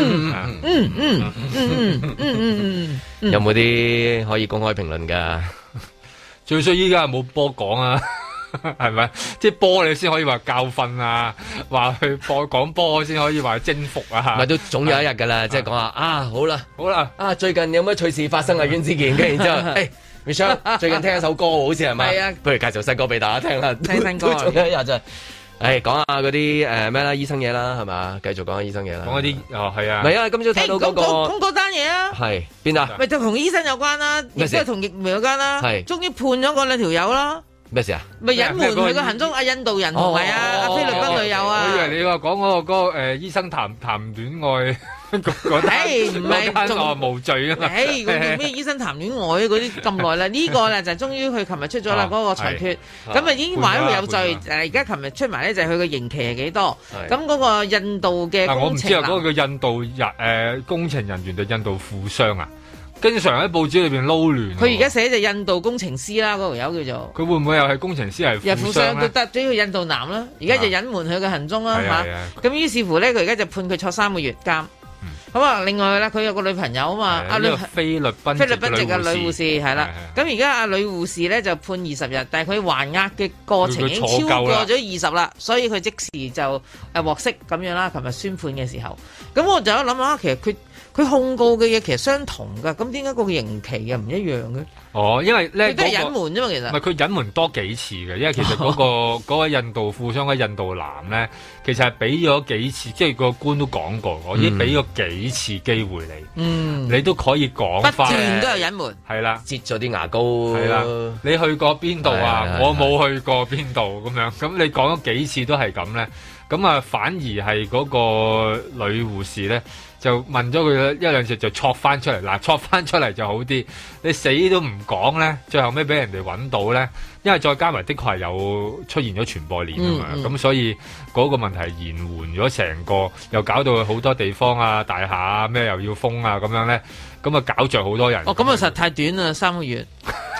有冇啲可以公開評論㗎？ 最衰依家係冇波講啊，係咪？即係波你先可以話教訓啊，話去講波先可以話征服啊， 咪都總有一日㗎啦，即係講話啊，好啦，啊最近有乜趣事發生啊？袁子健，跟住然之後，Michelle 最近聽一首歌好似係咪？係啊，不如介紹新歌俾大家聽啦。 聽新歌， 仲有一日就係講下嗰啲咩啦，醫生嘢啦，係嘛？繼續講下醫生嘢啦。 講一啲係啊。 唔係啊，今朝睇到嗰個咁嗰單嘢啊。 係邊啊？ 咪就同醫生有關啦，亦都係同疫苗有關啦。係，終於判咗嗰兩條友啦。 咩事啊？ 咪隱瞞佢個行蹤，阿印度人同埋阿菲律賓女友啊！ 我以為你話講嗰個醫生談戀愛嗰單， 唔係仲無罪啊嘛！ 嗰叫咩醫生談戀愛嗰啲咁耐啦，呢個咧就終於佢琴日出咗啦嗰個裁決，咁啊已經話佢有罪。而家琴日出埋咧就係佢個刑期係幾多？咁嗰個印度嘅我唔知啊，嗰個叫印度人工程人員定印度富商啊？經常喺報紙裏邊撈亂。 佢而家寫就印度工程師啦，嗰條友叫做。 佢會唔會又係工程師係富商咧？ 都得，主要印度男啦。而家就隱瞞佢嘅行蹤啦嚇。咁於是乎咧，佢而家就判佢坐3個月監。咁啊，另外咧，佢有個女朋友啊嘛， 菲律賓籍嘅女護士係啦。咁而家阿女護士咧就判20日，但係佢還押嘅過程已經超過咗20啦，所以佢即時就獲釋咁樣啦。琴日宣判嘅時候，咁我就一諗下，其實佢控告嘅嘢其實相同㗎，咁點解個刑期又唔一樣嘅？ 哦，因為咧佢都係隱瞞啫嘛，其實。 唔係佢隱瞞多幾次嘅，因為其實嗰個印度富商嘅印度男咧，其實係俾咗幾次，即係個官都講過，我已經俾咗幾次機會你，你都可以講翻。 不斷都有隱瞞。 係啦， 擠咗啲牙膏。 係啦，你去過邊度啊？我冇去過邊度咁樣，咁你講咗幾次都係咁咧，咁啊反而係嗰個女護士咧。就問咗佢一兩次就戳翻出嚟，嗱戳翻出嚟就好啲。你死都唔講咧，最後尾俾人哋揾到咧，因為再加埋的確係有出現咗傳播鏈啊嘛，咁所以嗰個問題係延緩咗成個，又搞到好多地方啊、大廈啊咩又要封啊咁樣咧，咁啊搞着好多人。 哦，咁啊實太短啦，3個月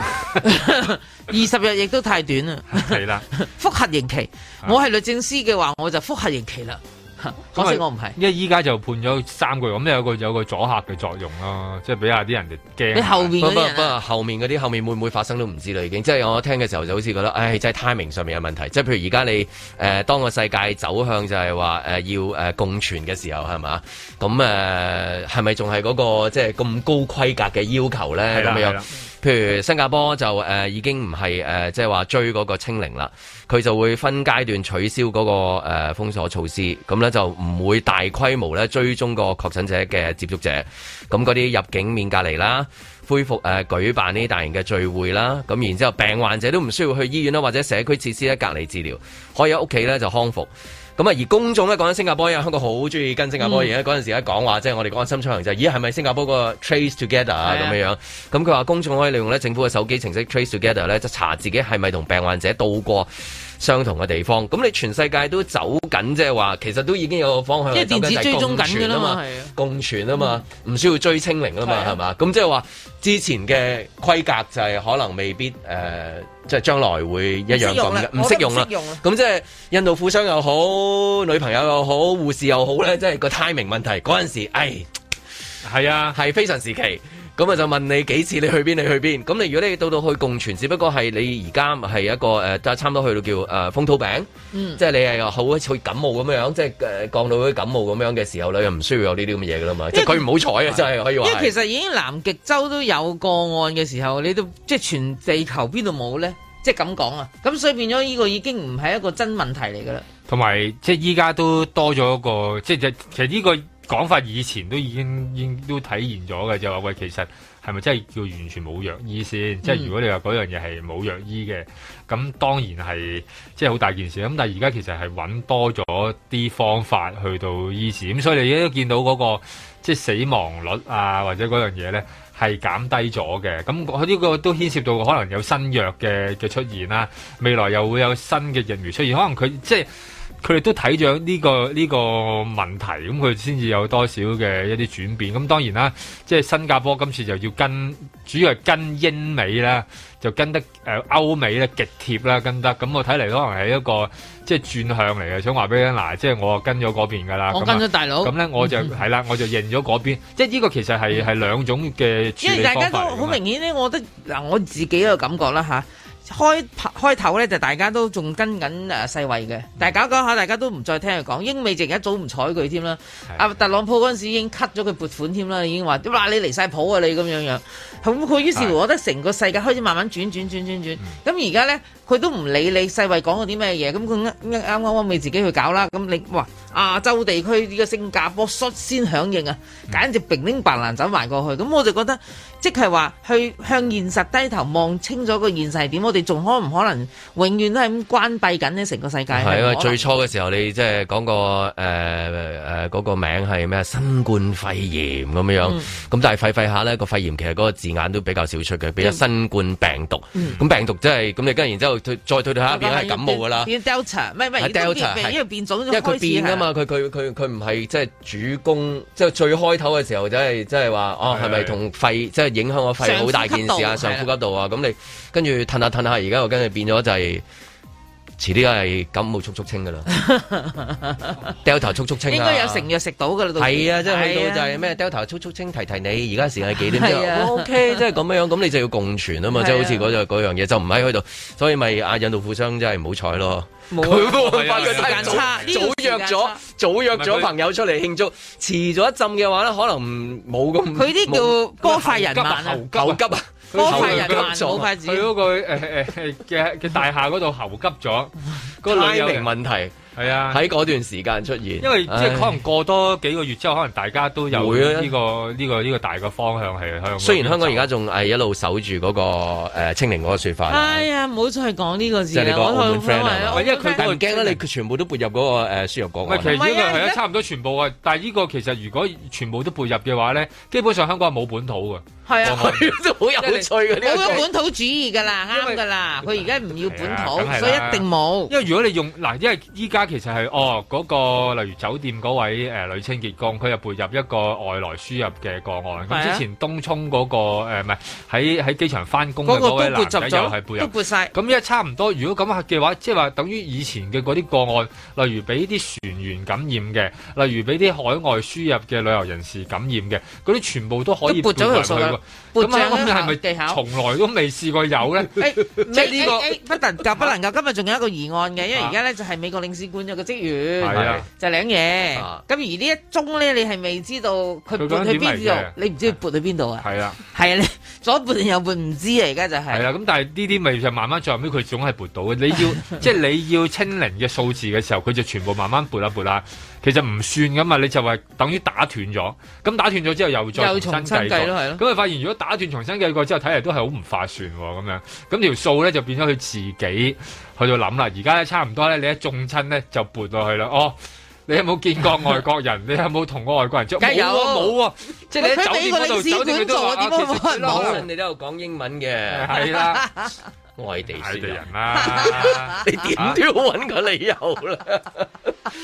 ，20日亦都太短啦。 係啦， 覆核刑期，我係律政司嘅話，我就覆核刑期啦。可惜我唔係， 因為依家就判咗3個月，咁有個阻嚇嘅作用咯，即係俾下啲人哋驚。 你後面嗰啲人， 不過後面嗰啲後面會唔會發生都唔知啦，已經。即係我聽嘅時候就好似覺得，唉，即係 timing 上面有問題。即係譬如而家你當個世界走向就係話要共存嘅時候係嘛？咁係咪仲係嗰個即係咁高規格嘅要求咧？咁樣。譬如新加坡就已經唔係即係話追嗰個清零啦，佢就會分階段取消嗰個封鎖措施，咁咧就唔會大規模咧追蹤個確診者嘅接觸者，咁嗰啲入境免隔離啦，恢復舉辦呢啲大型嘅聚會啦，咁然之後病患者都唔需要去醫院啦或者社區設施咧隔離治療，可以喺屋企咧就康復。咁啊，而公眾咧講緊新加坡，因為香港好中意跟新加坡嘢。嗰陣時一講話，即係我哋講緊深出行就係，咦係咪新加坡個 Trace Together 啊咁樣樣？咁佢話公眾可以利用咧政府嘅手機程式 Trace Together 咧，就查自己係咪同病患者到過相同嘅地方。咁你全世界都走緊，即係話其實都已經有個方向， 即係電子追蹤緊㗎啦嘛， 共存啊嘛，唔需要追清零啊嘛，係嘛？咁即係話之前嘅規格就係可能未必即係將來會一樣咁嘅，唔適用啦。咁即係印度富商又好，女朋友又好，護士又好咧，即係個 timing 問題。嗰陣時，係啊，係非常時期。 咁啊就問你幾次你去邊？咁你如果你到去共存，只不過係你而家係一個差唔多去到叫風土病，即係你係好似感冒咁樣，即係降到啲感冒咁樣嘅時候咧，又唔需要有呢啲咁嘅嘢噶啦嘛。即係佢唔好彩啊，真係可以話。 因為其實已經南極洲都有個案嘅時候，你都即係全地球邊度冇咧？即係咁講啊，咁所以變咗呢個已經唔係一個真問題嚟噶啦。 同埋即係依家都多咗一個，即係其實呢個講法以前都已經都體現咗嘅，就話喂，其實係咪真係叫完全冇藥醫先？即係如果你話嗰樣嘢係冇藥醫嘅，咁當然係即係好大件事。咁但係而家其實係揾多咗啲方法去到醫治，咁所以你而家都見到嗰個即係死亡率啊，或者嗰樣嘢咧，係減低咗嘅，咁呢個都牽涉到可能有新藥嘅出現啦，未來又會有新嘅疫苗出現，可能佢即係佢哋都睇咗呢個問題，咁佢先至有多少嘅一啲轉變。咁當然啦，即係新加坡今次就要主要係跟英美啦，就跟得歐美咧極貼啦，跟得咁我睇嚟可能係一個即係轉向嚟嘅，想話俾你聽嗱，即係我跟咗嗰邊㗎啦， 我跟咗大佬， 咁咧我就係啦，我就認咗嗰邊，即係呢個其實係兩種嘅處理方法嚟嘅。因為大家都好明顯咧，我覺得嗱，我自己嘅感覺啦嚇。開頭咧就大家都仲跟緊世衛嘅，但係搞下大家都唔再聽佢講，英美淨一早唔睬佢添啦。阿特朗普嗰陣時已經 cut 咗佢撥款添啦，已經話哇你離晒譜啊你咁樣，咁佢於是乎我覺得成個世界開始慢慢轉，咁而家咧佢都唔理你世衛講過啲咩嘢，咁佢啱未自己去搞啦，咁你哇亞洲地區呢個新加坡率先響應啊，簡直平拎白蘭走埋過去，咁我就覺得即係話去向現實低頭望清楚個現實係點，我哋仲可唔可能永遠都係咁關閉緊呢成個世界？係啊， 最初嘅時候你即係講個嗰個名係咩？新冠肺炎咁樣，咁但係廢下呢個肺炎其實嗰個字眼都比較少出嘅，比較新冠病毒。咁病毒即係咁你跟然之後再退下變係感冒㗎啦。 變 Delta， 唔係 Delta， 因為變種因為佢變㗎嘛，佢唔係即係主攻，即係最開頭嘅時候即係話哦係咪同肺即係影響個肺好大件事啊？上呼吸道啊，咁你跟住褪下，而家又跟住變咗就係遲啲係感冒速清噶啦，Delta 速清啊， 應該有成藥食到噶啦， 係啊，即係去到就係咩 Delta 速清提你，而家時間係幾點之後 OK， 即係咁樣，咁你就要共存啊嘛，即係好似嗰樣嘢就唔喺佢度，所以咪阿印度富商真係唔好彩咯。佢發覺時間差，早約咗朋友出嚟慶祝，遲咗一陣嘅話咧，可能冇咁。佢啲叫波快人慢啊， 猴急啊！ 波快人慢，冇快子。 佢嗰個嘅大廈嗰度猴急咗，嗰個timing 問題。 係啊， 喺嗰段時間出現， 因為即係可能過多幾個月之後，可能大家都有呢個大嘅方向係香港。 雖然香港而家仲係一路守住嗰個清零嗰個説法。 哎呀，唔好再講呢個字啦！ 即係你個澳門 friend 啊， 因為佢唔驚啦，你全部都撥入嗰個輸入個案。 其實呢個係差唔多全部啊，但係呢個其實如果全部都撥入嘅話咧，基本上香港係冇本土嘅。 係啊， 都好有趣嘅呢個。 冇咗本土主義㗎啦，啱㗎啦。佢而家唔要本土，所以一定冇。 因為如果你用嗱，因為依家其實係嗰個例如酒店嗰位女清潔工，佢又撥入一個外來輸入嘅個案。咁之前東涌嗰個唔係喺機場翻工嘅嗰位男仔又係撥入， 都撥晒。 咁依家差唔多，如果咁嘅話，即係話等於以前嘅嗰啲個案，例如俾啲船員感染嘅，例如俾啲海外輸入嘅旅遊人士感染嘅，嗰啲全部都可以撥入去。咁係咪技巧從來都未試過有咧？ 即係呢個不能夠。今日仲有一個疑案嘅，因為而家咧就係美國領事館有個職員，就領嘢。咁而呢一宗咧，你係未知道佢撥去邊度，你唔知佢撥去邊度啊？係啊，你左撥定右撥唔知啊！而家就係。係啦， 咁但係呢啲咪就慢慢最後尾佢總係撥到嘅。你要即係你要清零嘅數字嘅時候，佢就全部慢慢撥啦。其實唔算噶嘛，你就話等於打斷咗。咁打斷咗之後又再重新計咯，係咯。咁你發現如果打斷重新計過之後，睇嚟都係好唔划算咁樣。咁條數咧就變咗佢自己去到諗啦。而家咧差唔多咧，你一中親咧就撥落去啦。哦，你有冇見過外國人？你有冇同過外國人接觸？冇啊！即係你喺酒店嗰度，酒店佢都話其實冇人哋都有講英文嘅。 係啦， 外地人啦， 你點都要揾個理由啦。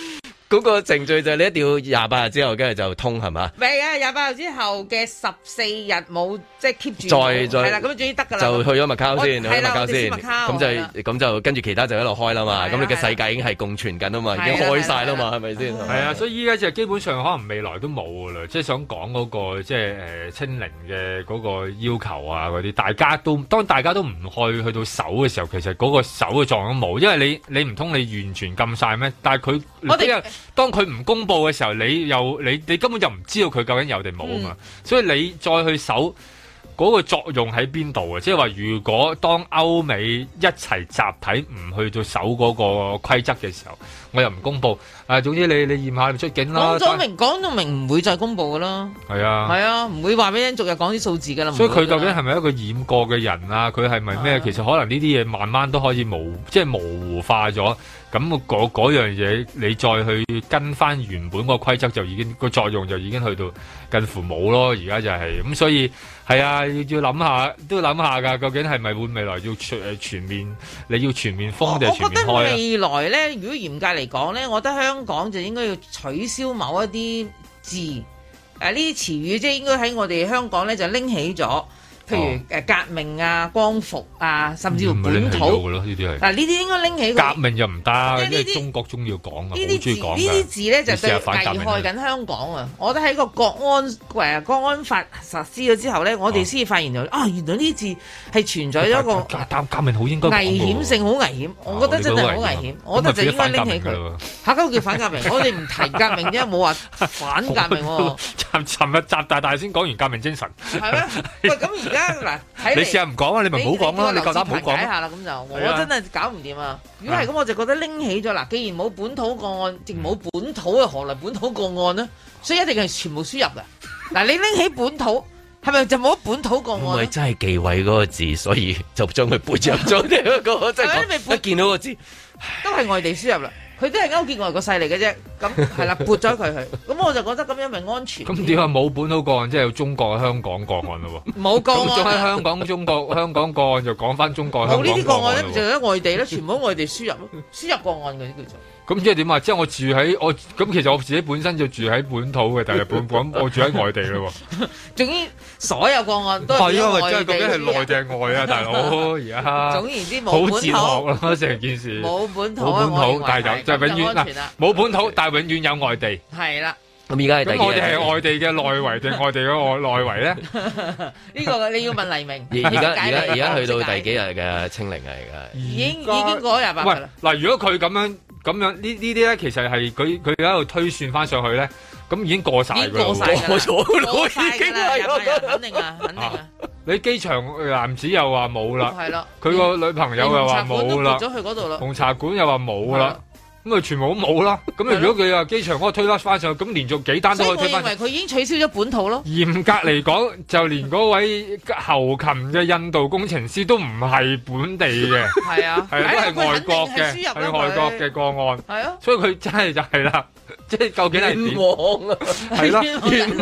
嗰個程序就係你一定要28日之後，跟住就通係嘛？ 唔係啊，28日之後嘅14日冇即係 keep 住。 再係啦，咁終於得㗎啦。 就去咗麥卡先，去咗麥卡先。咁就跟住其他就一路開啦嘛。咁你嘅世界已經係共存緊啊嘛，已經開晒啦嘛，係咪先？ 係啊，所以依家就基本上可能未來都冇㗎啦。即係想講嗰個即係清零嘅嗰個要求啊嗰啲，當大家都唔去到守嘅時候，其實嗰個守嘅作用都冇，因為你唔通你完全禁晒咩？但係佢當佢唔公佈嘅時候，你根本就唔知道佢究竟有定冇啊嘛，所以你再去守嗰個作用喺邊度啊？即係話如果當歐美一齊集體唔去到守嗰個規則嘅時候，我又唔公佈總之你驗下你出境啦。講到明唔會再公佈噶啦。係啊，唔會話俾人逐日講啲數字噶啦。所以佢究竟係咪一個染過嘅人啊？佢係咪咩？其實可能呢啲嘢慢慢都可以模糊化咗。咁嗰樣嘢，你再去跟翻原本個規則，就已經個作用就已經去到近乎冇咯。而家就係咁，所以係啊，要諗下，都諗下㗎。究竟係咪會未來要全面？你要全面封定係全面開啊？我覺得未來咧，如果嚴格嚟講咧，我覺得香港就應該要取消某一啲字，呢啲詞語，即係應該喺我哋香港咧就拎起咗。譬如革命啊、光復啊，甚至乎本土嘅咯，呢啲係。嗱，呢啲應該拎起。革命又唔得，因為中國中意講啊，好中意講。呢啲字咧就對危害緊香港啊！我覺得喺個國安法實施咗之後咧，我哋先至發現咗原來呢啲字係存在咗一個革命好應該危險性，好危險。我覺得真係好危險，我覺得就應該拎起佢。嚇，嗰個叫反革命，我哋唔提革命啫，冇話反革命喎。尋日習大先講完革命精神。係咩？喂，咁而家。嗱，你試下唔講啊，你咪唔好講啦，你夠膽唔好講。解下啦，咁就我真係搞唔掂啊！如果係咁，我就覺得拎起咗嗱，既然冇本土個案，亦冇本土嘅何來本土個案呢？所以一定係全部輸入嘅。嗱，你拎起本土，係咪就冇本土個案？唔係真係忌諱嗰個字，所以就將佢背入咗呢一個，即係一見到個字都係外地輸入啦。佢都係勾結外國勢力嘅啫，咁係啦，撥咗佢去，咁我就覺得咁樣咪安全。咁點解冇本土個案，即係有中國香港個案咯喎？冇個案。咁喺香港香港個案就講翻中國香港個案。冇呢啲個案咧，就喺外地咧，全部喺外地輸入咯，輸入個案嘅叫做。咁即係點啊？即係我住喺咁其實我自己本身就住喺本土嘅，但係我住喺外地咯喎。總之所有個案都係因為真係究竟係內定外啊，大佬而家。總言之冇本土。好哲學咯，成件事。冇本土，但係有就永遠冇本土，但係永遠有外地。係啦。咁而家係第二。咁我哋係外地嘅內圍定外地嘅內圍咧？呢個你要問黎明。而家去到第幾日嘅清零啊？而家已經過咗28日啦。嗱，如果佢咁樣呢啲咧，其實係佢喺度推算翻上去咧，咁已經過晒㗎啦，過咗已經係肯定啊！你機場男子又話冇啦，係啦，佢個女朋友又話冇啦，咗去嗰度啦，紅茶館又話冇啦。咁啊，全部都冇啦。咁如果佢話機場嗰個推得翻上去，咁連續幾單都可以推翻。所以我認為佢已經取消咗本土咯。嚴格嚟講，就連嗰位後勤嘅印度工程師都唔係本地嘅。係啊，係都係外國嘅，係外國嘅個案。係啊，所以佢真係就係啦，即係究竟係點？冤枉啊！係啦，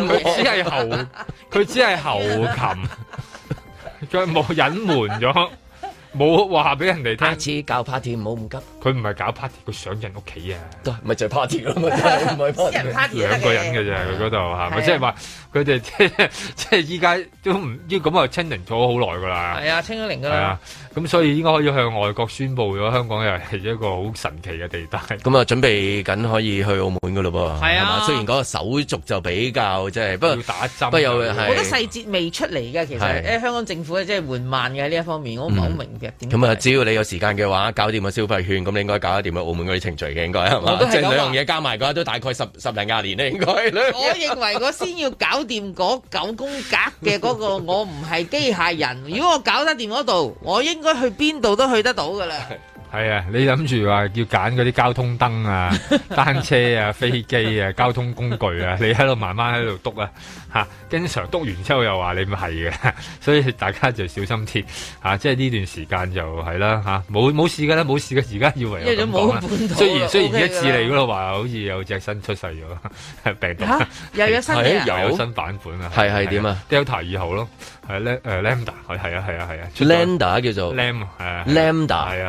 佢只係後勤，佢冇隱瞞咗。冇話俾人哋聽，下次搞 party 唔好咁急。佢唔係搞 party，佢上人屋企啊，都咪就係 party 咯，咪唔係 party。人 party 兩個人嘅啫，佢嗰度係咪？即係話佢哋即係依家都唔要咁啊，清零咗好耐噶啦。係啊，清咗零噶啦。係啊，咁所以應該可以向外國宣佈咗，香港又係一個好神奇嘅地帶。咁啊，準備緊可以去澳門噶咯噃。係啊，雖然嗰個手續就比較即係，不過要打針，不過有好多細節未出嚟嘅。其實香港政府即係緩慢嘅呢一方面，我唔係好明嘅。咁啊，只要你有時間嘅話，搞掂個消費券，咁你應該搞得掂澳門嗰啲程序嘅，應該係嘛？即係兩樣嘢加埋嘅話，都大概十零廿年咧，應該。我認為我先要搞掂嗰9宮格嘅嗰個，我唔係機械人。如果我搞得掂嗰度，我應該去邊度都去得到噶啦。係啊，你諗住話要揀嗰啲交通燈啊、單車啊、飛機啊、交通工具啊，你喺度慢慢喺度篤啊，嚇，經常篤完之後又話你唔係嘅，所以大家就小心啲嚇，即係呢段時間就係啦嚇，冇事㗎啦，冇事嘅，而家以為有咁講啦。雖然一次嚟嗰度話好似有隻新出世咗病毒，又有新又有新版本啊，係點啊 ？Delta 2號咯。係Lambda，係啊，Lambda 叫做 Lambda，係啊，出咗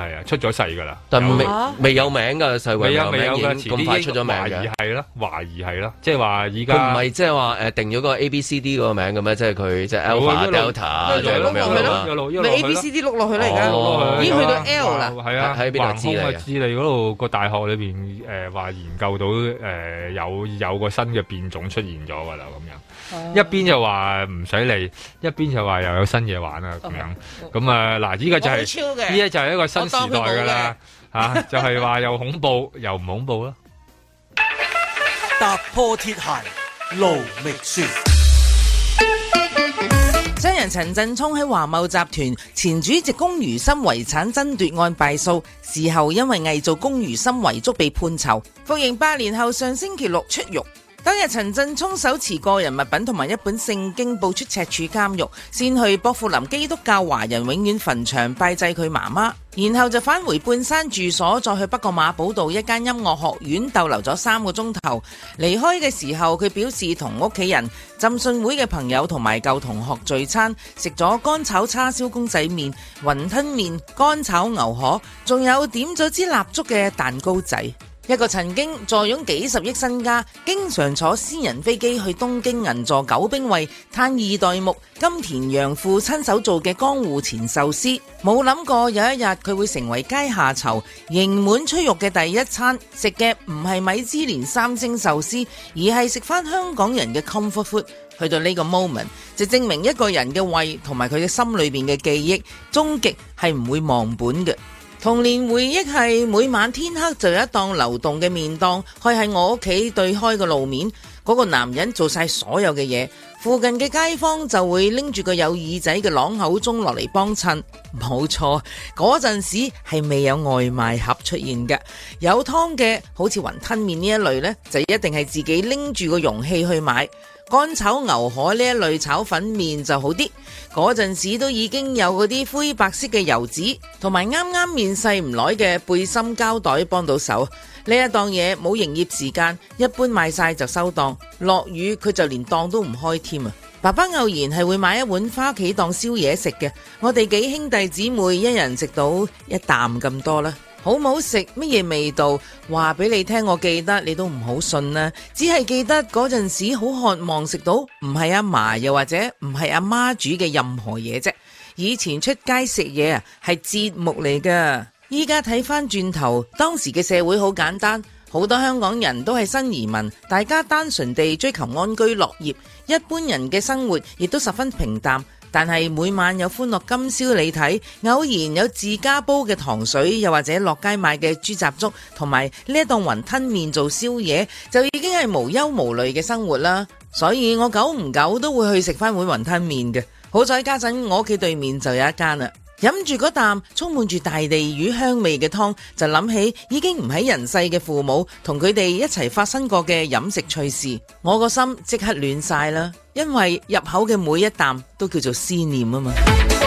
咗世㗎啦， 但未有名㗎，世衛未有名嘅，咁快出咗名嘅， 懷疑係啦，即係話而家佢唔係即係話定咗個 A B C D 嗰個名嘅咩？即係佢即係 Alpha Delta 即係咁樣啦， 咪 A B C D 碌落去啦，而家已經去到 L 啦， 係啊，喺邊度智利嗰度個大學裏邊話研究到有個新嘅變種出現咗㗎啦，咁樣一邊就話唔使理，一邊就話又有新嘢玩啊，咁樣咁嗱，依家就係依家就係一個新時代㗎啦，嚇就係話又恐怖又唔恐怖啦。 踏破鐵鞋路未雪。 商人陳振聰喺華懋集團前主席龔如心遺產爭奪案敗訴，事後因為偽造龔如心遺囑被判囚，服刑8年後上星期六出獄。當日陳振聰手持個人物品同埋一本聖經步出赤柱監獄，先去薄扶林基督教華人永遠墳場拜祭佢媽媽，然後就返回半山住所，再去北角馬寶道一間音樂學院逗留咗3個鐘頭。離開嘅時候，佢表示同屋企人、浸信會嘅朋友同埋舊同學聚餐，食咗乾炒叉燒公仔麵、雲吞麵、乾炒牛河，仲有點咗支蠟燭嘅蛋糕仔。一個曾經坐擁幾十億身家，經常坐私人飛機去東京銀座九兵衛嘆二代目金田洋父親手做嘅江戶前壽司，冇諗過有一日佢會成為階下囚，刑滿出獄嘅第一餐食嘅唔係米芝蓮3星壽司，而係食翻香港人嘅 comfort food。去到呢個 moment 就證明一個人嘅胃同埋佢嘅心裏邊嘅記憶，終極係唔會忘本嘅。童年回憶係每晚天黑就有一檔流動嘅麵檔開喺我屋企對開個路面，嗰個男人做晒所有嘅嘢，附近嘅街坊就會拎住個有耳仔嘅朗口鐘落嚟幫襯。冇錯，嗰陣時係未有外賣盒出現嘅，有湯嘅好似雲吞麵呢一類呢，就一定係自己拎住個容器去買。乾炒牛河呢一類炒粉麵就好啲，嗰陣時都已經有嗰啲灰白色嘅油紙，同埋啱啱面世唔耐嘅背心膠袋幫到手。呢一檔嘢冇營業時間，一般賣晒就收檔，落雨佢就連檔都唔開添啊！爸爸偶然係會買一碗返屋企當宵夜食嘅，我哋幾兄弟姊妹一人食到一啖咁多啦。好唔好食？乜嘢味道？話俾你聽，我記得你都唔好信啦。只係記得嗰陣時好渴望食到唔係阿嫲又或者唔係阿媽煮嘅任何嘢啫。以前出街食嘢啊係節目嚟噶。依家睇翻轉頭，當時嘅社會好簡單，好多香港人都係新移民，大家單純地追求安居樂業，一般人嘅生活亦都十分平淡。但係每晚有歡樂今宵你睇，偶然有自家煲嘅糖水，又或者落街買嘅豬雜粥，同埋呢一檔雲吞麵做宵夜，就已經係無憂無慮嘅生活啦。所以我久唔久都會去食翻碗雲吞麵嘅。好在家陣我屋企對面就有一間啦，飲住嗰啖充滿住大地魚香味嘅湯，就諗起已經唔喺人世嘅父母，同佢哋一齊發生過嘅飲食趣事，我個心即刻暖晒啦，因為入口嘅每一啖都叫做思念啊嘛。